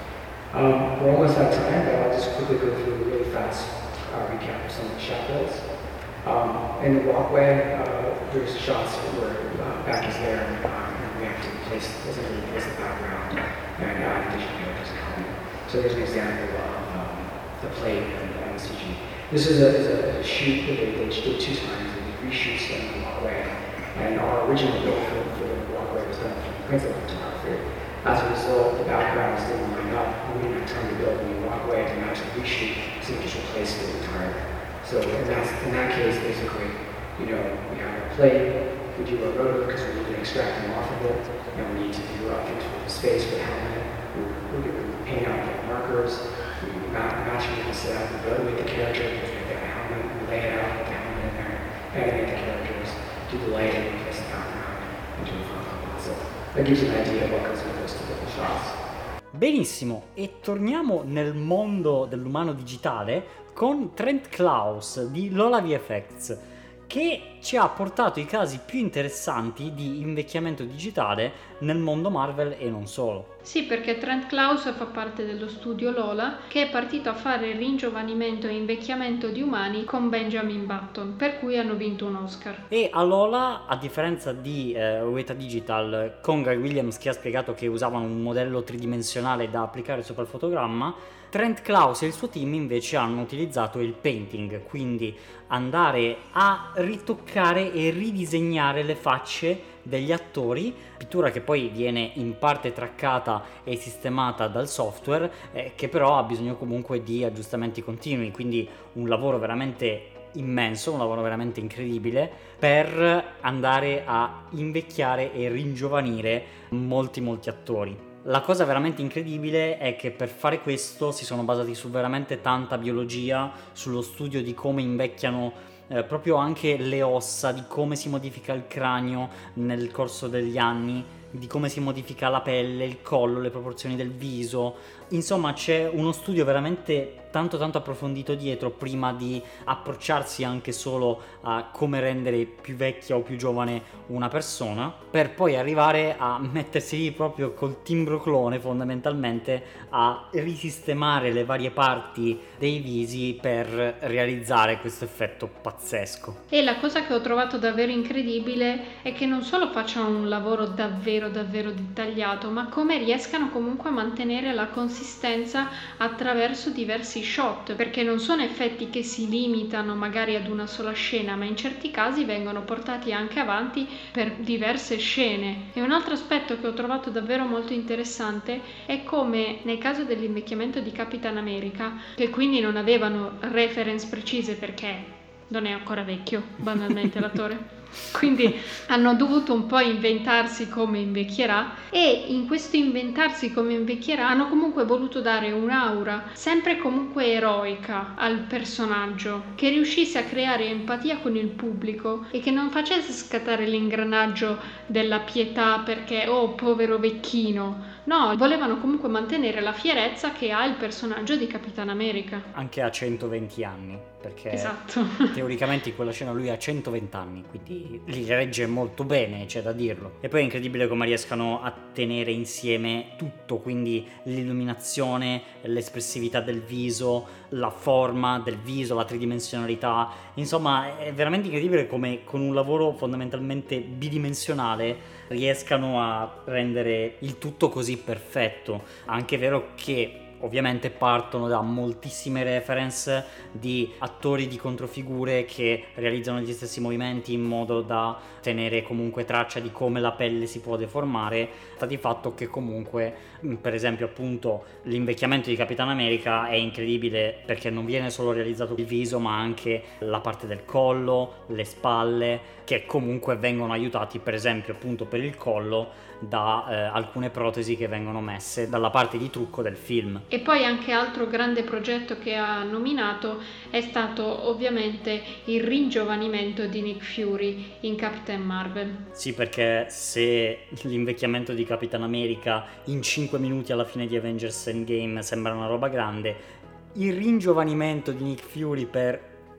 Um, we're almost out of time, but I'll just quickly go through a really fast uh, recap of some of the shot builds. Um, in the walkway, uh, there's shots where uh, back is there, uh, and we have to replace, essentially replace the background and add additional characters and helmet. So there's an example of um, the plate and, and the C G. This is a, is a shoot that they, they did two times, and they reshoots in the walkway. And our original build for, for the walkway was done from principal photography. As a result, the backgrounds didn't line up. We didn't have time to build a new walkway to match the reshoot, so we just replaced it entirely. So in that, in that case, basically, you know, we have a plate, we do a rotor because we need to extract them off of it, and we need to do uh, things with the space for the helmet. We, we, we paint out the markers, we match, match it with the set, we evaluate the character because we have the helmet, we lay it out with the helmet in there, animate the characters, do the lighting, place the background, and do a front composite. That gives you an idea of what goes with those typical shots. Benissimo, e torniamo nel mondo dell'umano digitale con Trent Klaus di Lola V F X, che ci ha portato i casi più interessanti di invecchiamento digitale nel mondo Marvel e non solo. Sì, perché Trent Klaus fa parte dello studio Lola, che è partito a fare ringiovanimento e invecchiamento di umani con Benjamin Button, per cui hanno vinto un Oscar. E a Lola, a differenza di eh, Weta Digital, con Guy Williams che ha spiegato che usavano un modello tridimensionale da applicare sopra il fotogramma, Trent Klaus e il suo team invece hanno utilizzato il painting, quindi andare a ritoccare e ridisegnare le facce degli attori, pittura che poi viene in parte traccata e sistemata dal software, eh, che però ha bisogno comunque di aggiustamenti continui, quindi un lavoro veramente immenso, un lavoro veramente incredibile per andare a invecchiare e ringiovanire molti molti attori. La cosa veramente incredibile è che per fare questo si sono basati su veramente tanta biologia, sullo studio di come invecchiano eh, proprio anche le ossa, di come si modifica il cranio nel corso degli anni, di come si modifica la pelle, il collo, le proporzioni del viso. Insomma, c'è uno studio veramente tanto tanto approfondito dietro prima di approcciarsi anche solo a come rendere più vecchia o più giovane una persona, per poi arrivare a mettersi lì proprio col timbroclone fondamentalmente a risistemare le varie parti dei visi per realizzare questo effetto pazzesco. E la cosa che ho trovato davvero incredibile è che non solo facciano un lavoro davvero davvero dettagliato, ma come riescano comunque a mantenere la consistenza attraverso diversi shot, perché non sono effetti che si limitano magari ad una sola scena, ma in certi casi vengono portati anche avanti per diverse scene. E un altro aspetto che ho trovato davvero molto interessante è come nel caso dell'invecchiamento di Capitan America, che quindi non avevano reference precise perché non è ancora vecchio, banalmente l'attore. Quindi hanno dovuto un po' inventarsi come invecchierà, e in questo inventarsi come invecchierà hanno comunque voluto dare un'aura sempre comunque eroica al personaggio, che riuscisse a creare empatia con il pubblico e che non facesse scattare l'ingranaggio della pietà perché oh povero vecchino. No, volevano comunque mantenere la fierezza che ha il personaggio di Capitan America. Anche a centoventi anni, perché esatto. Teoricamente in quella scena lui ha centoventi anni, quindi li regge molto bene, c'è da dirlo. E poi è incredibile come riescano a tenere insieme tutto, quindi l'illuminazione, l'espressività del viso, la forma del viso, la tridimensionalità. Insomma, è veramente incredibile come con un lavoro fondamentalmente bidimensionale riescano a rendere il tutto così perfetto. Anche è vero che ovviamente partono da moltissime reference di attori di controfigure che realizzano gli stessi movimenti in modo da tenere comunque traccia di come la pelle si può deformare. Sta di fatto che comunque, per esempio appunto, l'invecchiamento di Capitan America è incredibile perché non viene solo realizzato il viso ma anche la parte del collo, le spalle, che comunque vengono aiutati per esempio appunto per il collo da eh, alcune protesi che vengono messe dalla parte di trucco del film. E poi anche altro grande progetto che ha nominato è stato ovviamente il ringiovanimento di Nick Fury in Captain Marvel. Sì, perché se l'invecchiamento di Capitan America in cinque minuti alla fine di Avengers Endgame sembra una roba grande, il ringiovanimento di Nick Fury per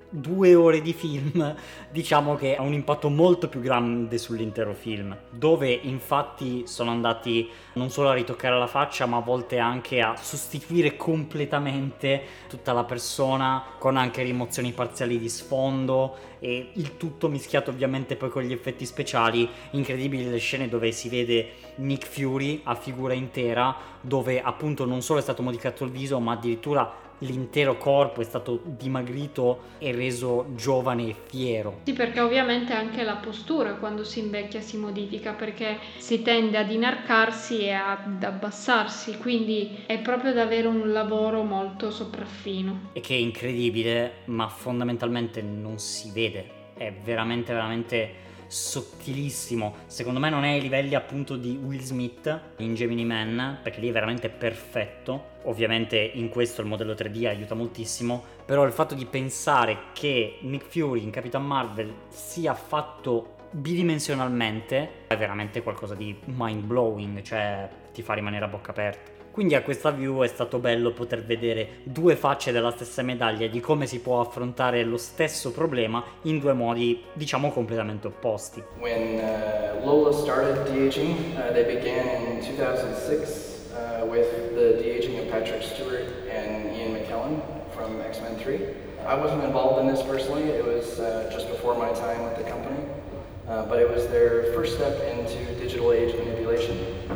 due ore di film, diciamo che ha un impatto molto più grande sull'intero film, dove infatti sono andati non solo a ritoccare la faccia, ma a volte anche a sostituire completamente tutta la persona, con anche rimozioni parziali di sfondo, e il tutto mischiato ovviamente poi con gli effetti speciali. Incredibili le scene dove si vede Nick Fury a figura intera, dove appunto non solo è stato modificato il viso, ma addirittura l'intero corpo è stato dimagrito e reso giovane e fiero. Sì, perché ovviamente anche la postura quando si invecchia si modifica, perché si tende ad inarcarsi e ad abbassarsi, quindi è proprio davvero un lavoro molto sopraffino. E che è incredibile, ma fondamentalmente non si vede, è veramente veramente sottilissimo. Secondo me non è ai livelli appunto di Will Smith in Gemini Man, perché lì è veramente perfetto. Ovviamente in questo il modello tre D aiuta moltissimo, però il fatto di pensare che Nick Fury in Capitan Marvel sia fatto bidimensionalmente è veramente qualcosa di mind blowing, cioè ti fa rimanere a bocca aperta. Quindi a questa view è stato bello poter vedere due facce della stessa medaglia, di come si può affrontare lo stesso problema in due modi, diciamo, completamente opposti. When uh, Lola started de-aging, uh, they began in two thousand six uh, with the de-aging of Patrick Stewart and Ian McKellen from X-Men three. I wasn't involved in this personally, it was uh, just before my time with the company, uh, but it was their first step into digital age manipulation.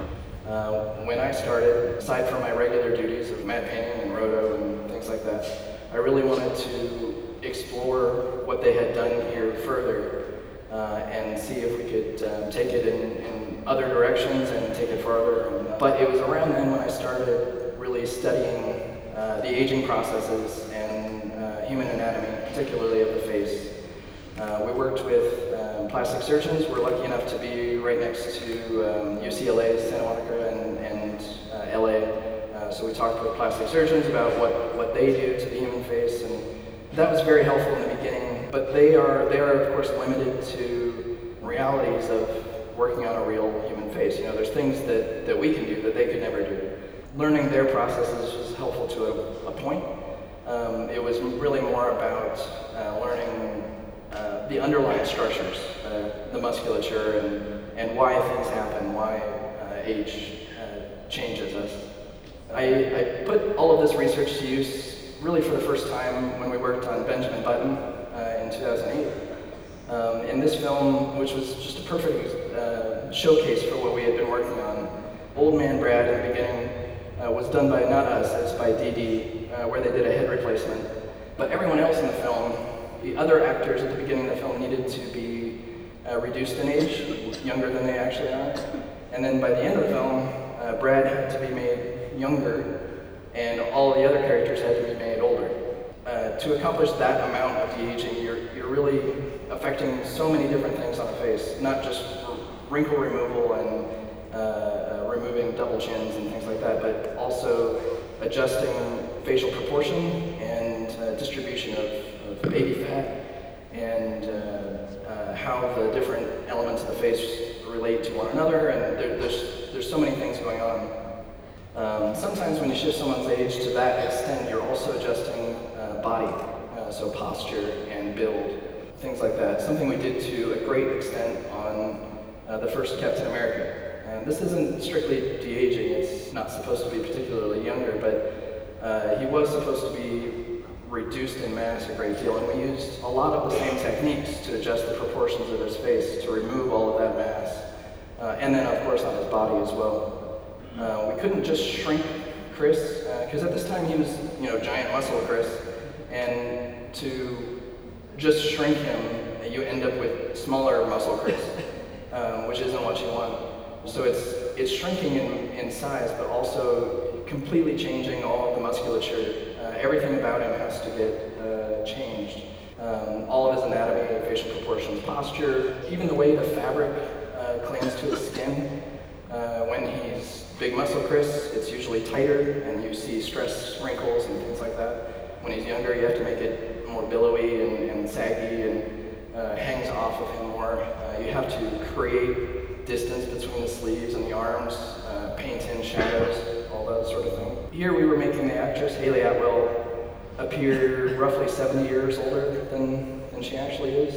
Uh, when I started, aside from my regular duties of matte painting and roto and things like that, I really wanted to explore what they had done here further uh, and see if we could um, take it in, in other directions and take it farther. But it was around then when I started really studying uh, the aging processes and uh, human anatomy, particularly of the face. Uh, we worked with um, plastic surgeons. We're lucky enough to be right next to um, U C L A, Santa Monica, and, and uh, L A. Uh, so we talked with plastic surgeons about what, what they do to the human face, and that was very helpful in the beginning. But they are, they are of course limited to realities of working on a real human face. You know, there's things that, that we can do that they could never do. Learning their processes was helpful to a, a point. Um, it was really more about uh, learning Uh, the underlying structures, uh, the musculature, and, and why things happen, why uh, age uh, changes us. I, I put all of this research to use really for the first time when we worked on Benjamin Button uh, in two thousand eight. Um, in this film, which was just a perfect uh, showcase for what we had been working on, Old Man Brad in the beginning uh, was done by not us, it's by D D, uh, where they did a head replacement. But everyone else in the film, the other actors at the beginning of the film, needed to be uh, reduced in age, younger than they actually are. And then by the end of the film, uh, Brad had to be made younger, and all the other characters had to be made older. Uh, to accomplish that amount of de-aging, you're, you're really affecting so many different things on the face, not just wrinkle removal and uh, uh, removing double chins and things like that, but also adjusting facial proportion and uh, distribution of baby fat, and uh, uh, how the different elements of the face relate to one another, and there, there's, there's so many things going on. Um, sometimes when you shift someone's age to that extent, you're also adjusting uh, body, uh, so posture and build, things like that. Something we did to a great extent on uh, the first Captain America. And this isn't strictly de-aging, it's not supposed to be particularly younger, but uh, he was supposed to be reduced in mass a great deal, and we used a lot of the same techniques to adjust the proportions of his face to remove all of that mass, uh, and then of course on his body as well. Uh, we couldn't just shrink Chris, because uh, at this time he was, you know, giant muscle Chris, and to just shrink him, you end up with smaller muscle Chris, um, which isn't what you want. So it's it's shrinking in, in size, but also completely changing all of the musculature. Uh, everything about him has to get uh, changed. Um, all of his anatomy, facial proportions, posture, even the way the fabric uh, clings to his skin. Uh, when he's big muscle Chris, it's usually tighter, and you see stress wrinkles and things like that. When he's younger, you have to make it more billowy and, and saggy, and uh, hangs off of him more. Uh, you have to create distance between the sleeves and the arms, uh, paint in shadows, all that sort of thing. Here we were making the actress Hayley Atwell appear roughly seventy years older than, than she actually is.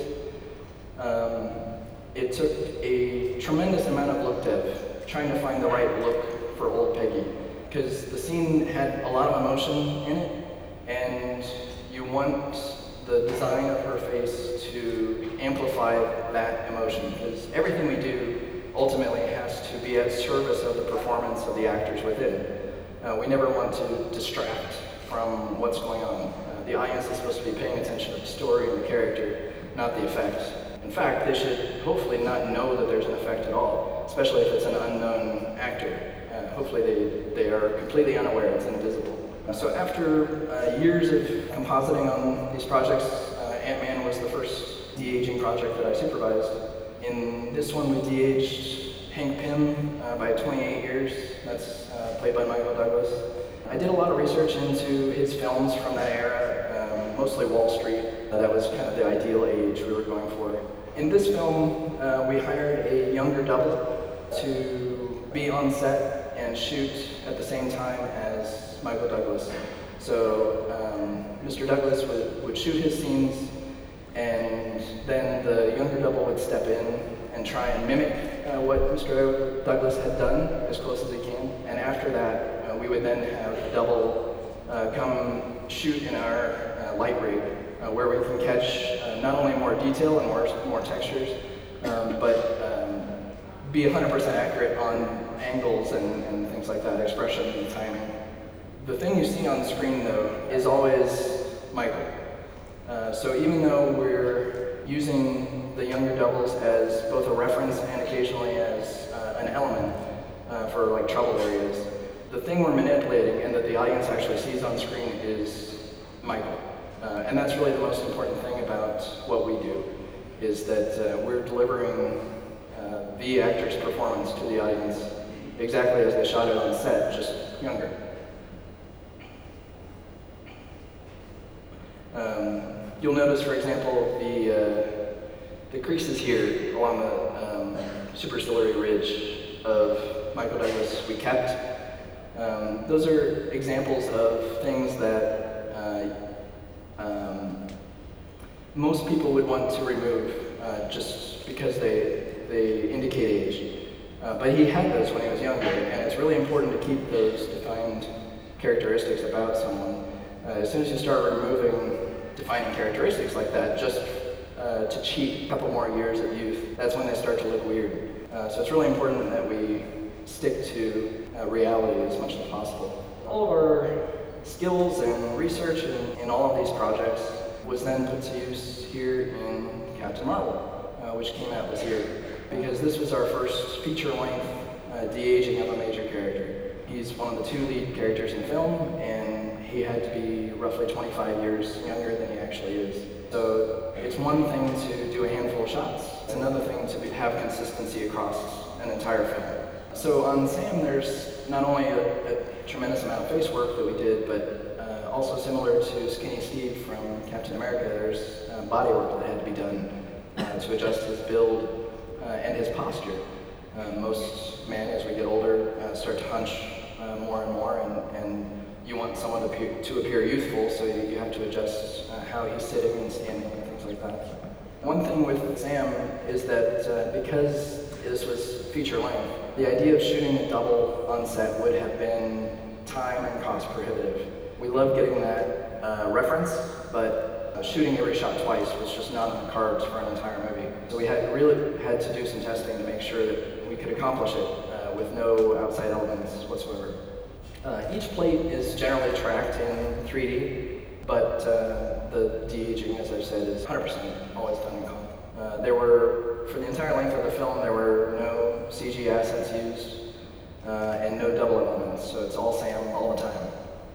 Um, it took a tremendous amount of look dev, trying to find the right look for old Peggy, because the scene had a lot of emotion in it, and you want the design of her face to amplify that emotion, because everything we do ultimately has to be at service of the performance of the actors within. Uh, we never want to distract from what's going on. Uh, the audience is supposed to be paying attention to the story and the character, not the effects. In fact, they should hopefully not know that there's an effect at all, especially if it's an unknown actor. Uh, hopefully they, they are completely unaware it's invisible. So after uh, years of compositing on these projects, uh, Ant-Man was the first de-aging project that I supervised. In this one, we de-aged Hank Pym uh, by twenty-eight years. That's uh, played by Michael Douglas. I did a lot of research into his films from that era, um, mostly Wall Street. Uh, that was kind of the ideal age we were going for. In this film, uh, we hired a younger double to be on set and shoot at the same time as Michael Douglas. So um, Mister Douglas would, would shoot his scenes, and then the younger double would step in and try and mimic uh, what Mister Douglas had done as close as he can. And after that, uh, we would then have a double uh, come shoot in our uh, light rig, uh, where we can catch uh, not only more detail and more, more textures, um, but um, be one hundred percent accurate on angles and, and things like that, expression and timing. The thing you see on the screen, though, is always Michael. Uh, so even though we're using the younger doubles as both a reference and occasionally as uh, an element uh, for like trouble areas, the thing we're manipulating and that the audience actually sees on screen is Michael. Uh, and that's really the most important thing about what we do, is that uh, we're delivering uh, the actor's performance to the audience exactly as they shot it on set, just younger. Um, you'll notice, for example, the, uh, the creases here along the um, superciliary ridge of Michael Douglas we kept. Um, those are examples of things that uh, um, most people would want to remove uh, just because they, they indicate age. Uh, but he had those when he was younger, and it's really important to keep those defined characteristics about someone. Uh, as soon as you start removing defining characteristics like that, just uh, to cheat a couple more years of youth, that's when they start to look weird. Uh, so it's really important that we stick to uh, reality as much as possible. All of our skills and research in, in all of these projects was then put to use here in Captain Marvel, uh, which came out this year, because this was our first feature-length uh, de-aging of a major character. He's one of the two lead characters in film, and he had to be roughly twenty-five years younger than he actually is. So it's one thing to do a handful of shots. It's another thing to be, have consistency across an entire film. So on Sam, there's not only a, a tremendous amount of face work that we did, but uh, also similar to Skinny Steve from Captain America, there's uh, body work that had to be done uh, to adjust his build uh, and his posture. Uh, most men, as we get older, uh, start to hunch uh, more and more, and, and you want someone to appear, to appear youthful, so you, you have to adjust uh, how he's sitting and standing and things like that. One thing with Sam is that uh, because this was feature length, the idea of shooting a double on set would have been time and cost prohibitive. We love getting that uh, reference, but uh, shooting every shot twice was just not on the cards for an entire movie. So we had really had to do some testing to make sure that we could accomplish it uh, with no outside elements whatsoever. Uh, each plate is generally tracked in three D, but uh, the de-aging, as I've said, is one hundred percent always done in color. Uh, there were, for the entire length of the film, there were no C G assets used uh, and no double elements, so it's all Sam all the time.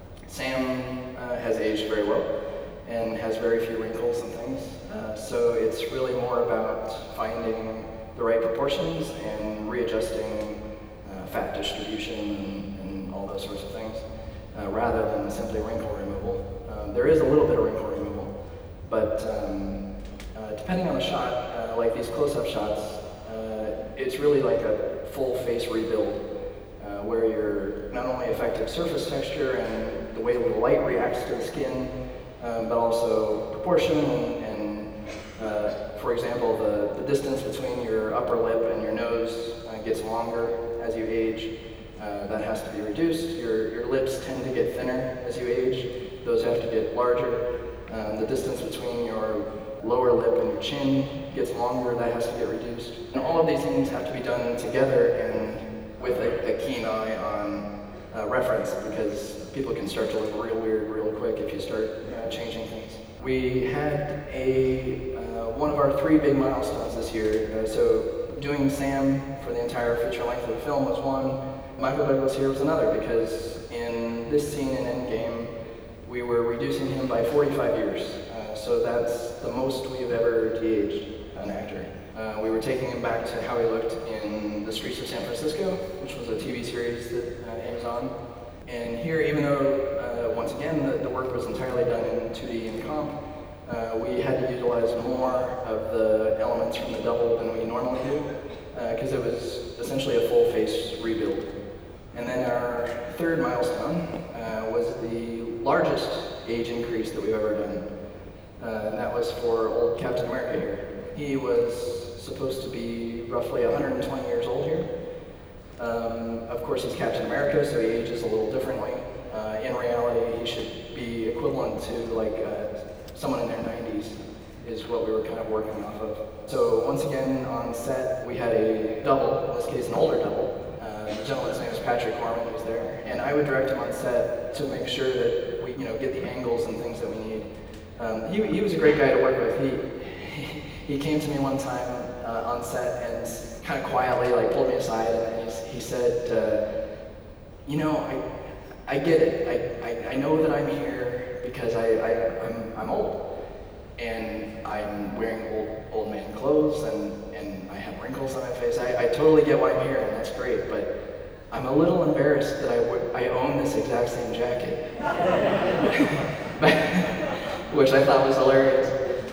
Sam uh, has aged very well and has very few wrinkles and things, uh, so it's really more about finding the right proportions and readjusting uh, fat distribution and, and all those sorts of things, uh, rather than simply wrinkle removal. Um, there is a little bit of wrinkle removal, but um, uh, depending on the shot, uh, like these close-up shots, uh, it's really like a full face rebuild, uh, where you're not only affecting surface texture and the way the light reacts to the skin, um, but also proportion and, and uh, for example, the, the distance between your upper lip and your nose uh, gets longer as you age. Uh, that has to be reduced. Your, your lips tend to get thinner as you age. Those have to get larger. Um, the distance between your lower lip and your chin gets longer. That has to get reduced. And all of these things have to be done together and with a, a keen eye on uh, reference, because people can start to look real weird real quick if you start uh, changing things. We had a uh, one of our three big milestones this year. Uh, so doing Sam for the entire feature length of the film was one. Michael Douglas here was another, because in this scene in Endgame, we were reducing him by forty-five years. Uh, so that's the most we've ever de-aged an actor. Uh, we were taking him back to how he looked in The Streets of San Francisco, which was a T V series that uh, he was on. And here, even though, uh, once again, the, the work was entirely done in two D and comp, uh, we had to utilize more of the elements from the double than we normally do, because uh, it was essentially a full face rebuild. And then our third milestone uh, was the largest age increase that we've ever done. Uh, and that was for old Captain America here. He was supposed to be roughly one hundred twenty years old here. Um, of course, he's Captain America, so he ages a little differently. Uh, in reality, he should be equivalent to like uh, someone in their nineties, is what we were kind of working off of. So once again, on set, we had a double, in this case an older double. Uh, the gentleman's name is Patrick Gorman, who's there. And I would direct him on set to make sure that we, you know, get the angles and things that we need. Um, he, he was a great guy to work with. He, he came to me one time uh, on set and kind of quietly like pulled me aside and he, he said, uh, you know, I, I get it. I, I, I know that I'm here because I, I, I'm, I'm old. And I'm wearing old, old man clothes and, and I have wrinkles on my face. I, I totally get why I'm here, and that's great, but I'm a little embarrassed that I, w- I own this exact same jacket. Which I thought was hilarious.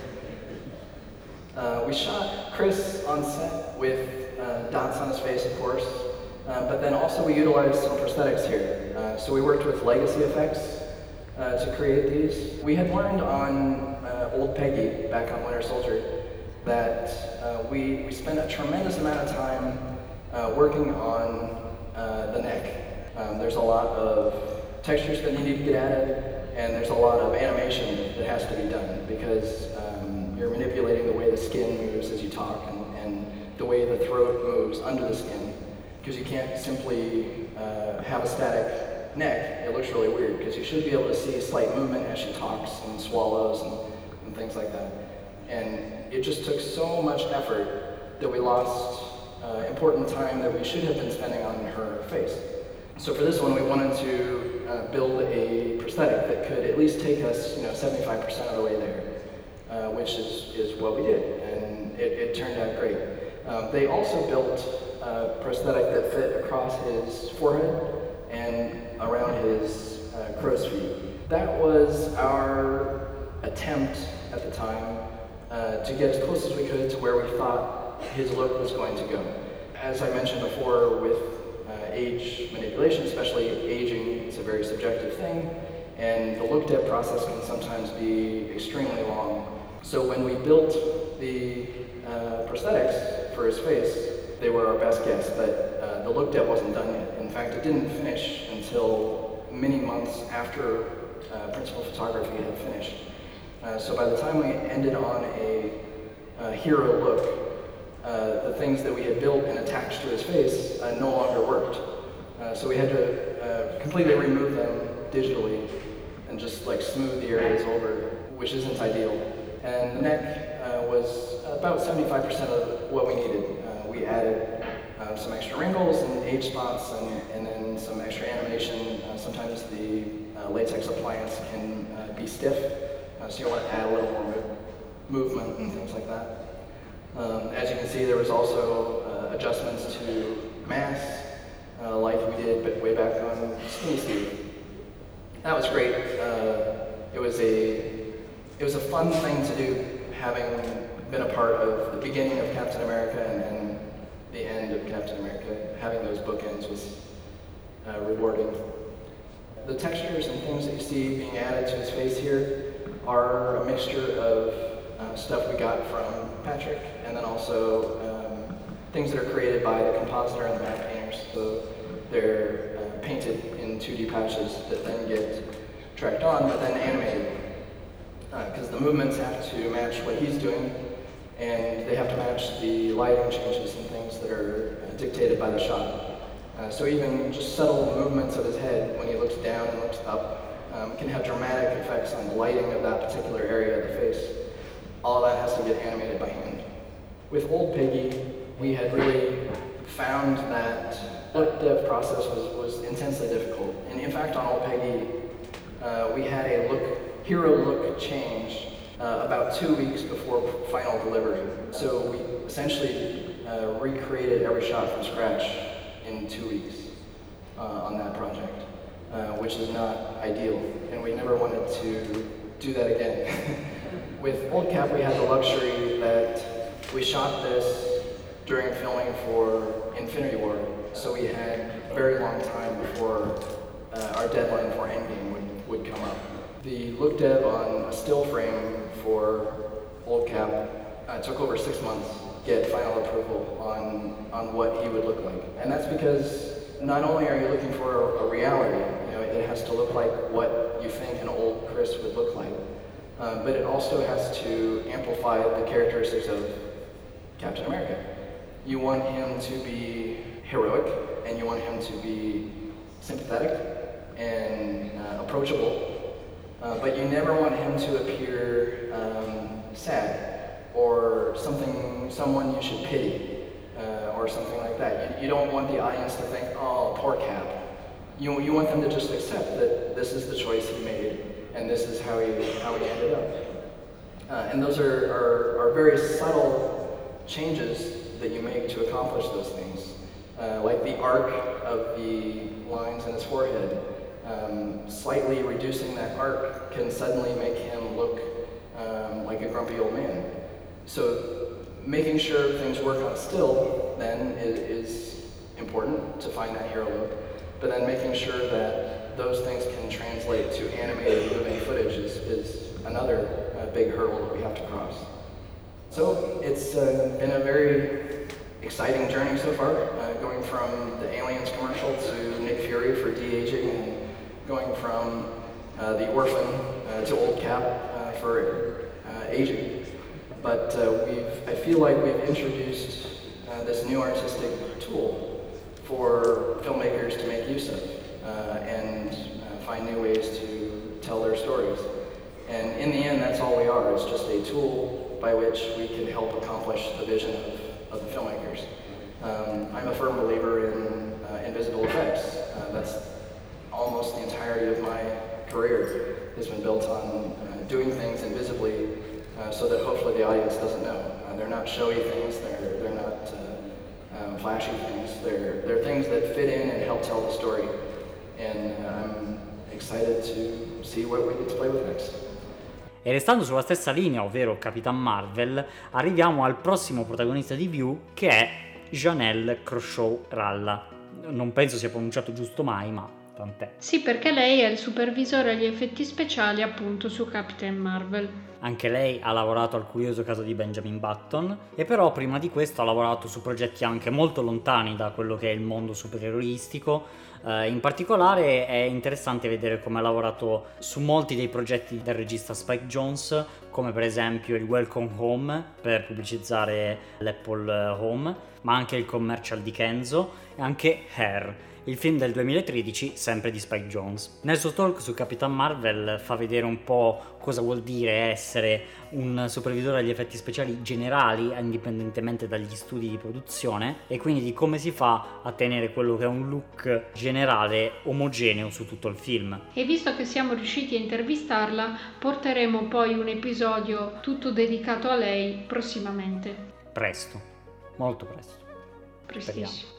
Uh, we shot Chris on set with uh, dots on his face, of course, uh, but then also we utilized some prosthetics here. Uh, so we worked with Legacy Effects uh, to create these. We had learned on uh, Old Peggy, back on Winter Soldier, that uh, we, we spent a tremendous amount of time uh, working on uh, the neck. Um, there's a lot of textures that need to get added, and there's a lot of animation that has to be done, because um, you're manipulating the way the skin moves as you talk, and, and the way the throat moves under the skin, because you can't simply uh, have a static neck. It looks really weird, because you should be able to see slight movement as she talks and swallows and, and things like that. And it just took so much effort that we lost uh, important time that we should have been spending on her face. So for this one, we wanted to uh, build a prosthetic that could at least take us, you know, seventy-five percent of the way there, uh, which is, is what we did, and it, it turned out great. Um, they also built a prosthetic that fit across his forehead and around his uh, crow's feet. That was our attempt at the time uh, to get as close as we could to where we thought his look was going to go. As I mentioned before, with uh, age manipulation, especially aging, it's a very subjective thing, and the look depth process can sometimes be extremely long. So when we built the uh, prosthetics for his face, they were our best guess, but uh, the look depth wasn't done yet. In fact, it didn't finish until many months after uh, principal photography had finished. Uh, so by the time we ended on a uh, hero look, uh, the things that we had built and attached to his face uh, no longer worked. Uh, so we had to uh, completely remove them digitally and just like smooth the areas over, which isn't ideal. And the neck uh, was about seventy-five percent of what we needed. Uh, we added uh, some extra wrinkles and age spots and, and then some extra animation. Uh, sometimes the uh, latex appliance can uh, be stiff, uh, so you want to add a little more mo- movement and things like that. Um, as you can see, there was also uh, adjustments to mass, uh, like we did but way back on Skinny Steve. That was great. Uh, it was a it was a fun thing to do, having been a part of the beginning of Captain America and, and the end of Captain America. Having those bookends was uh, rewarding. The textures and things that you see being added to his face here are a mixture of uh, stuff we got from Patrick, and then also um, things that are created by the compositor and the map painters. So they're uh, painted in two D patches that then get tracked on, but then animated. Because uh, the movements have to match what he's doing, and they have to match the lighting changes and things that are uh, dictated by the shot. Uh, so even just subtle movements of his head when he looks down and looks up um, can have dramatic effects on the lighting of that particular area of the face. All of that has to get animated by hand. With Old Piggy, we had really found that look dev process was, was intensely difficult. And in fact, on Old Piggy, uh, we had a look, hero look change uh, about two weeks before final delivery. So we essentially uh, recreated every shot from scratch in two weeks uh, on that project, uh, which is not ideal, and we never wanted to do that again. With Old Cap, we had the luxury that we shot this during filming for Infinity War, so we had a very long time before uh, our deadline for Endgame would, would come up. The look dev on a still frame for Old Cap uh, took over six months to get final approval on, on what he would look like. And that's because not only are you looking for a, a reality, you know, it has to look like what you think an old Chris would look like, uh, but it also has to amplify the characteristics of Captain America. You want him to be heroic, and you want him to be sympathetic and uh, approachable, uh, but you never want him to appear um, sad or something, someone you should pity, uh, or something like that. You, you don't want the audience to think, oh, poor Cap. You, you want them to just accept that this is the choice he made, and this is how he, how he ended up. Uh, and those are, are, are very subtle changes that you make to accomplish those things. Uh, like the arc of the lines in his forehead, um, slightly reducing that arc can suddenly make him look um, like a grumpy old man. So making sure things work on still then is, is important to find that hero look, but then making sure that those things can translate to animated moving footage is, is another uh, big hurdle that we have to cross. So it's uh, been a very exciting journey so far, uh, going from the Aliens commercial to Nick Fury for de-aging, and going from uh, the Orphan uh, to Old Cap uh, for uh, aging. But uh, we've, I feel like we've introduced uh, this new artistic tool for filmmakers to make use of uh, and uh, find new ways to tell their stories. And in the end, that's all we are. It's just a tool by which we can help accomplish the vision of, of the filmmakers. Um, I'm a firm believer in uh, invisible effects. Uh, that's almost the entirety of my career has been built on uh, doing things invisibly uh, so that hopefully the audience doesn't know. Uh, they're not showy things, they're, they're not uh, um, flashy things, they're, they're things that fit in and help tell the story. And uh, I'm excited to see what we get to play with next. E restando sulla stessa linea, ovvero Capitan Marvel, arriviamo al prossimo protagonista di View, che è Janelle Croshaw-Ralla. Non penso sia pronunciato giusto mai, ma tant'è. Sì, perché lei è il supervisore agli effetti speciali appunto su Captain Marvel. Anche lei ha lavorato al curioso caso di Benjamin Button, e però prima di questo ha lavorato su progetti anche molto lontani da quello che è il mondo supereroistico. Uh, in particolare è interessante vedere come ha lavorato su molti dei progetti del regista Spike Jonze, come per esempio il Welcome Home per pubblicizzare l'Apple Home, ma anche il commercial di Kenzo e anche Hair, il film del duemilatredici sempre di Spike Jonze. Nel suo talk su Capitan Marvel fa vedere un po' cosa vuol dire essere un supervisore agli effetti speciali generali indipendentemente dagli studi di produzione, e quindi di come si fa a tenere quello che è un look generale omogeneo su tutto il film. E visto che siamo riusciti a intervistarla, porteremo poi un episodio tutto dedicato a lei prossimamente. Presto, molto presto. Prestissimo.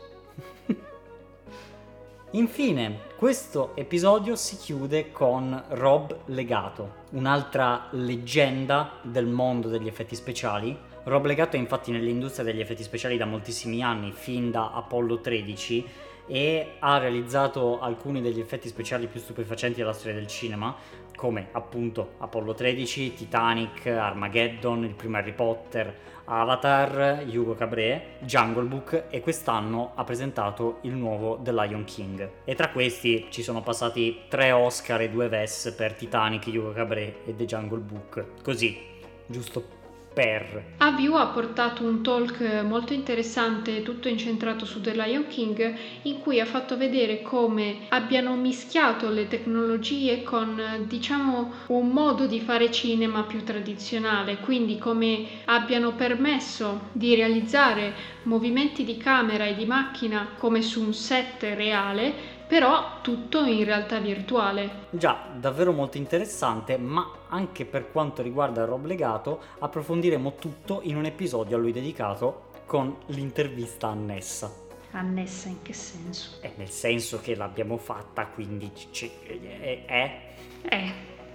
Infine, questo episodio si chiude con Rob Legato, un'altra leggenda del mondo degli effetti speciali. Rob Legato è infatti nell'industria degli effetti speciali da moltissimi anni, fin da Apollo tredici, e ha realizzato alcuni degli effetti speciali più stupefacenti della storia del cinema, come appunto Apollo tredici, Titanic, Armageddon, il primo Harry Potter, Avatar, Hugo Cabret, Jungle Book, e quest'anno ha presentato il nuovo The Lion King. E tra questi ci sono passati tre Oscar e due Vess per Titanic, Hugo Cabret e The Jungle Book. Così, giusto per... A View ha portato un talk molto interessante, tutto incentrato su The Lion King, in cui ha fatto vedere come abbiano mischiato le tecnologie con, diciamo, un modo di fare cinema più tradizionale, quindi come abbiano permesso di realizzare movimenti di camera e di macchina come su un set reale, però tutto in realtà virtuale. Già, davvero molto interessante, ma anche per quanto riguarda Rob Legato approfondiremo tutto in un episodio a lui dedicato con l'intervista annessa. Annessa in che senso? È nel senso che l'abbiamo fatta, quindi c- è, è... Eh.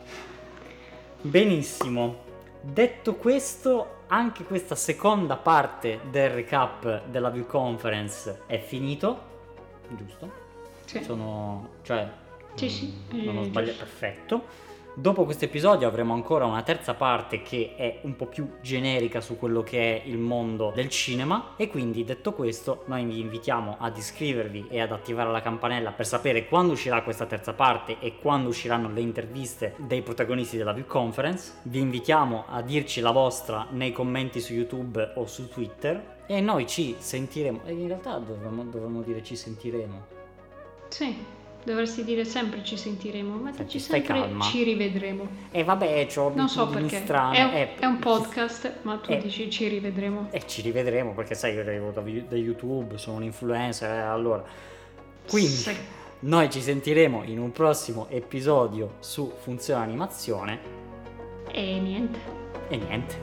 Benissimo. Detto questo, anche questa seconda parte del recap della View Conference è finito, giusto? Sì. Sono, cioè, Sì, sì, non ho eh, sbagliato, perfetto. Dopo questo episodio avremo ancora una terza parte che è un po' più generica su quello che è il mondo del cinema, e quindi, detto questo, noi vi invitiamo ad iscrivervi e ad attivare la campanella per sapere quando uscirà questa terza parte e quando usciranno le interviste dei protagonisti della View Conference. Vi invitiamo a dirci la vostra nei commenti su YouTube o su Twitter, e noi ci sentiremo, e in realtà dovremmo, dovremmo dire ci sentiremo. Sì, dovresti dire sempre ci sentiremo, ma Senti, dici stai sempre calma. ci rivedremo. E vabbè, c'ho Non so abitudini perché, strane. è un, eh, è un podcast, ma tu eh, dici ci rivedremo. E ci rivedremo perché sai, io arrivo da, da YouTube, sono un influencer, eh, allora. Quindi, Sì. noi ci sentiremo in un prossimo episodio su Funzione Animazione. E niente. E niente.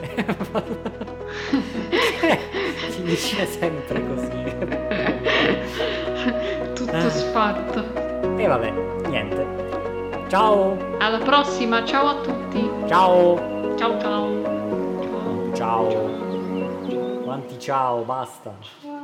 Finisce sempre così. Tutto sfatto. E vabbè, niente. Ciao. Alla prossima, ciao a tutti. Ciao. Ciao ciao. Ciao. Quanti ciao, basta.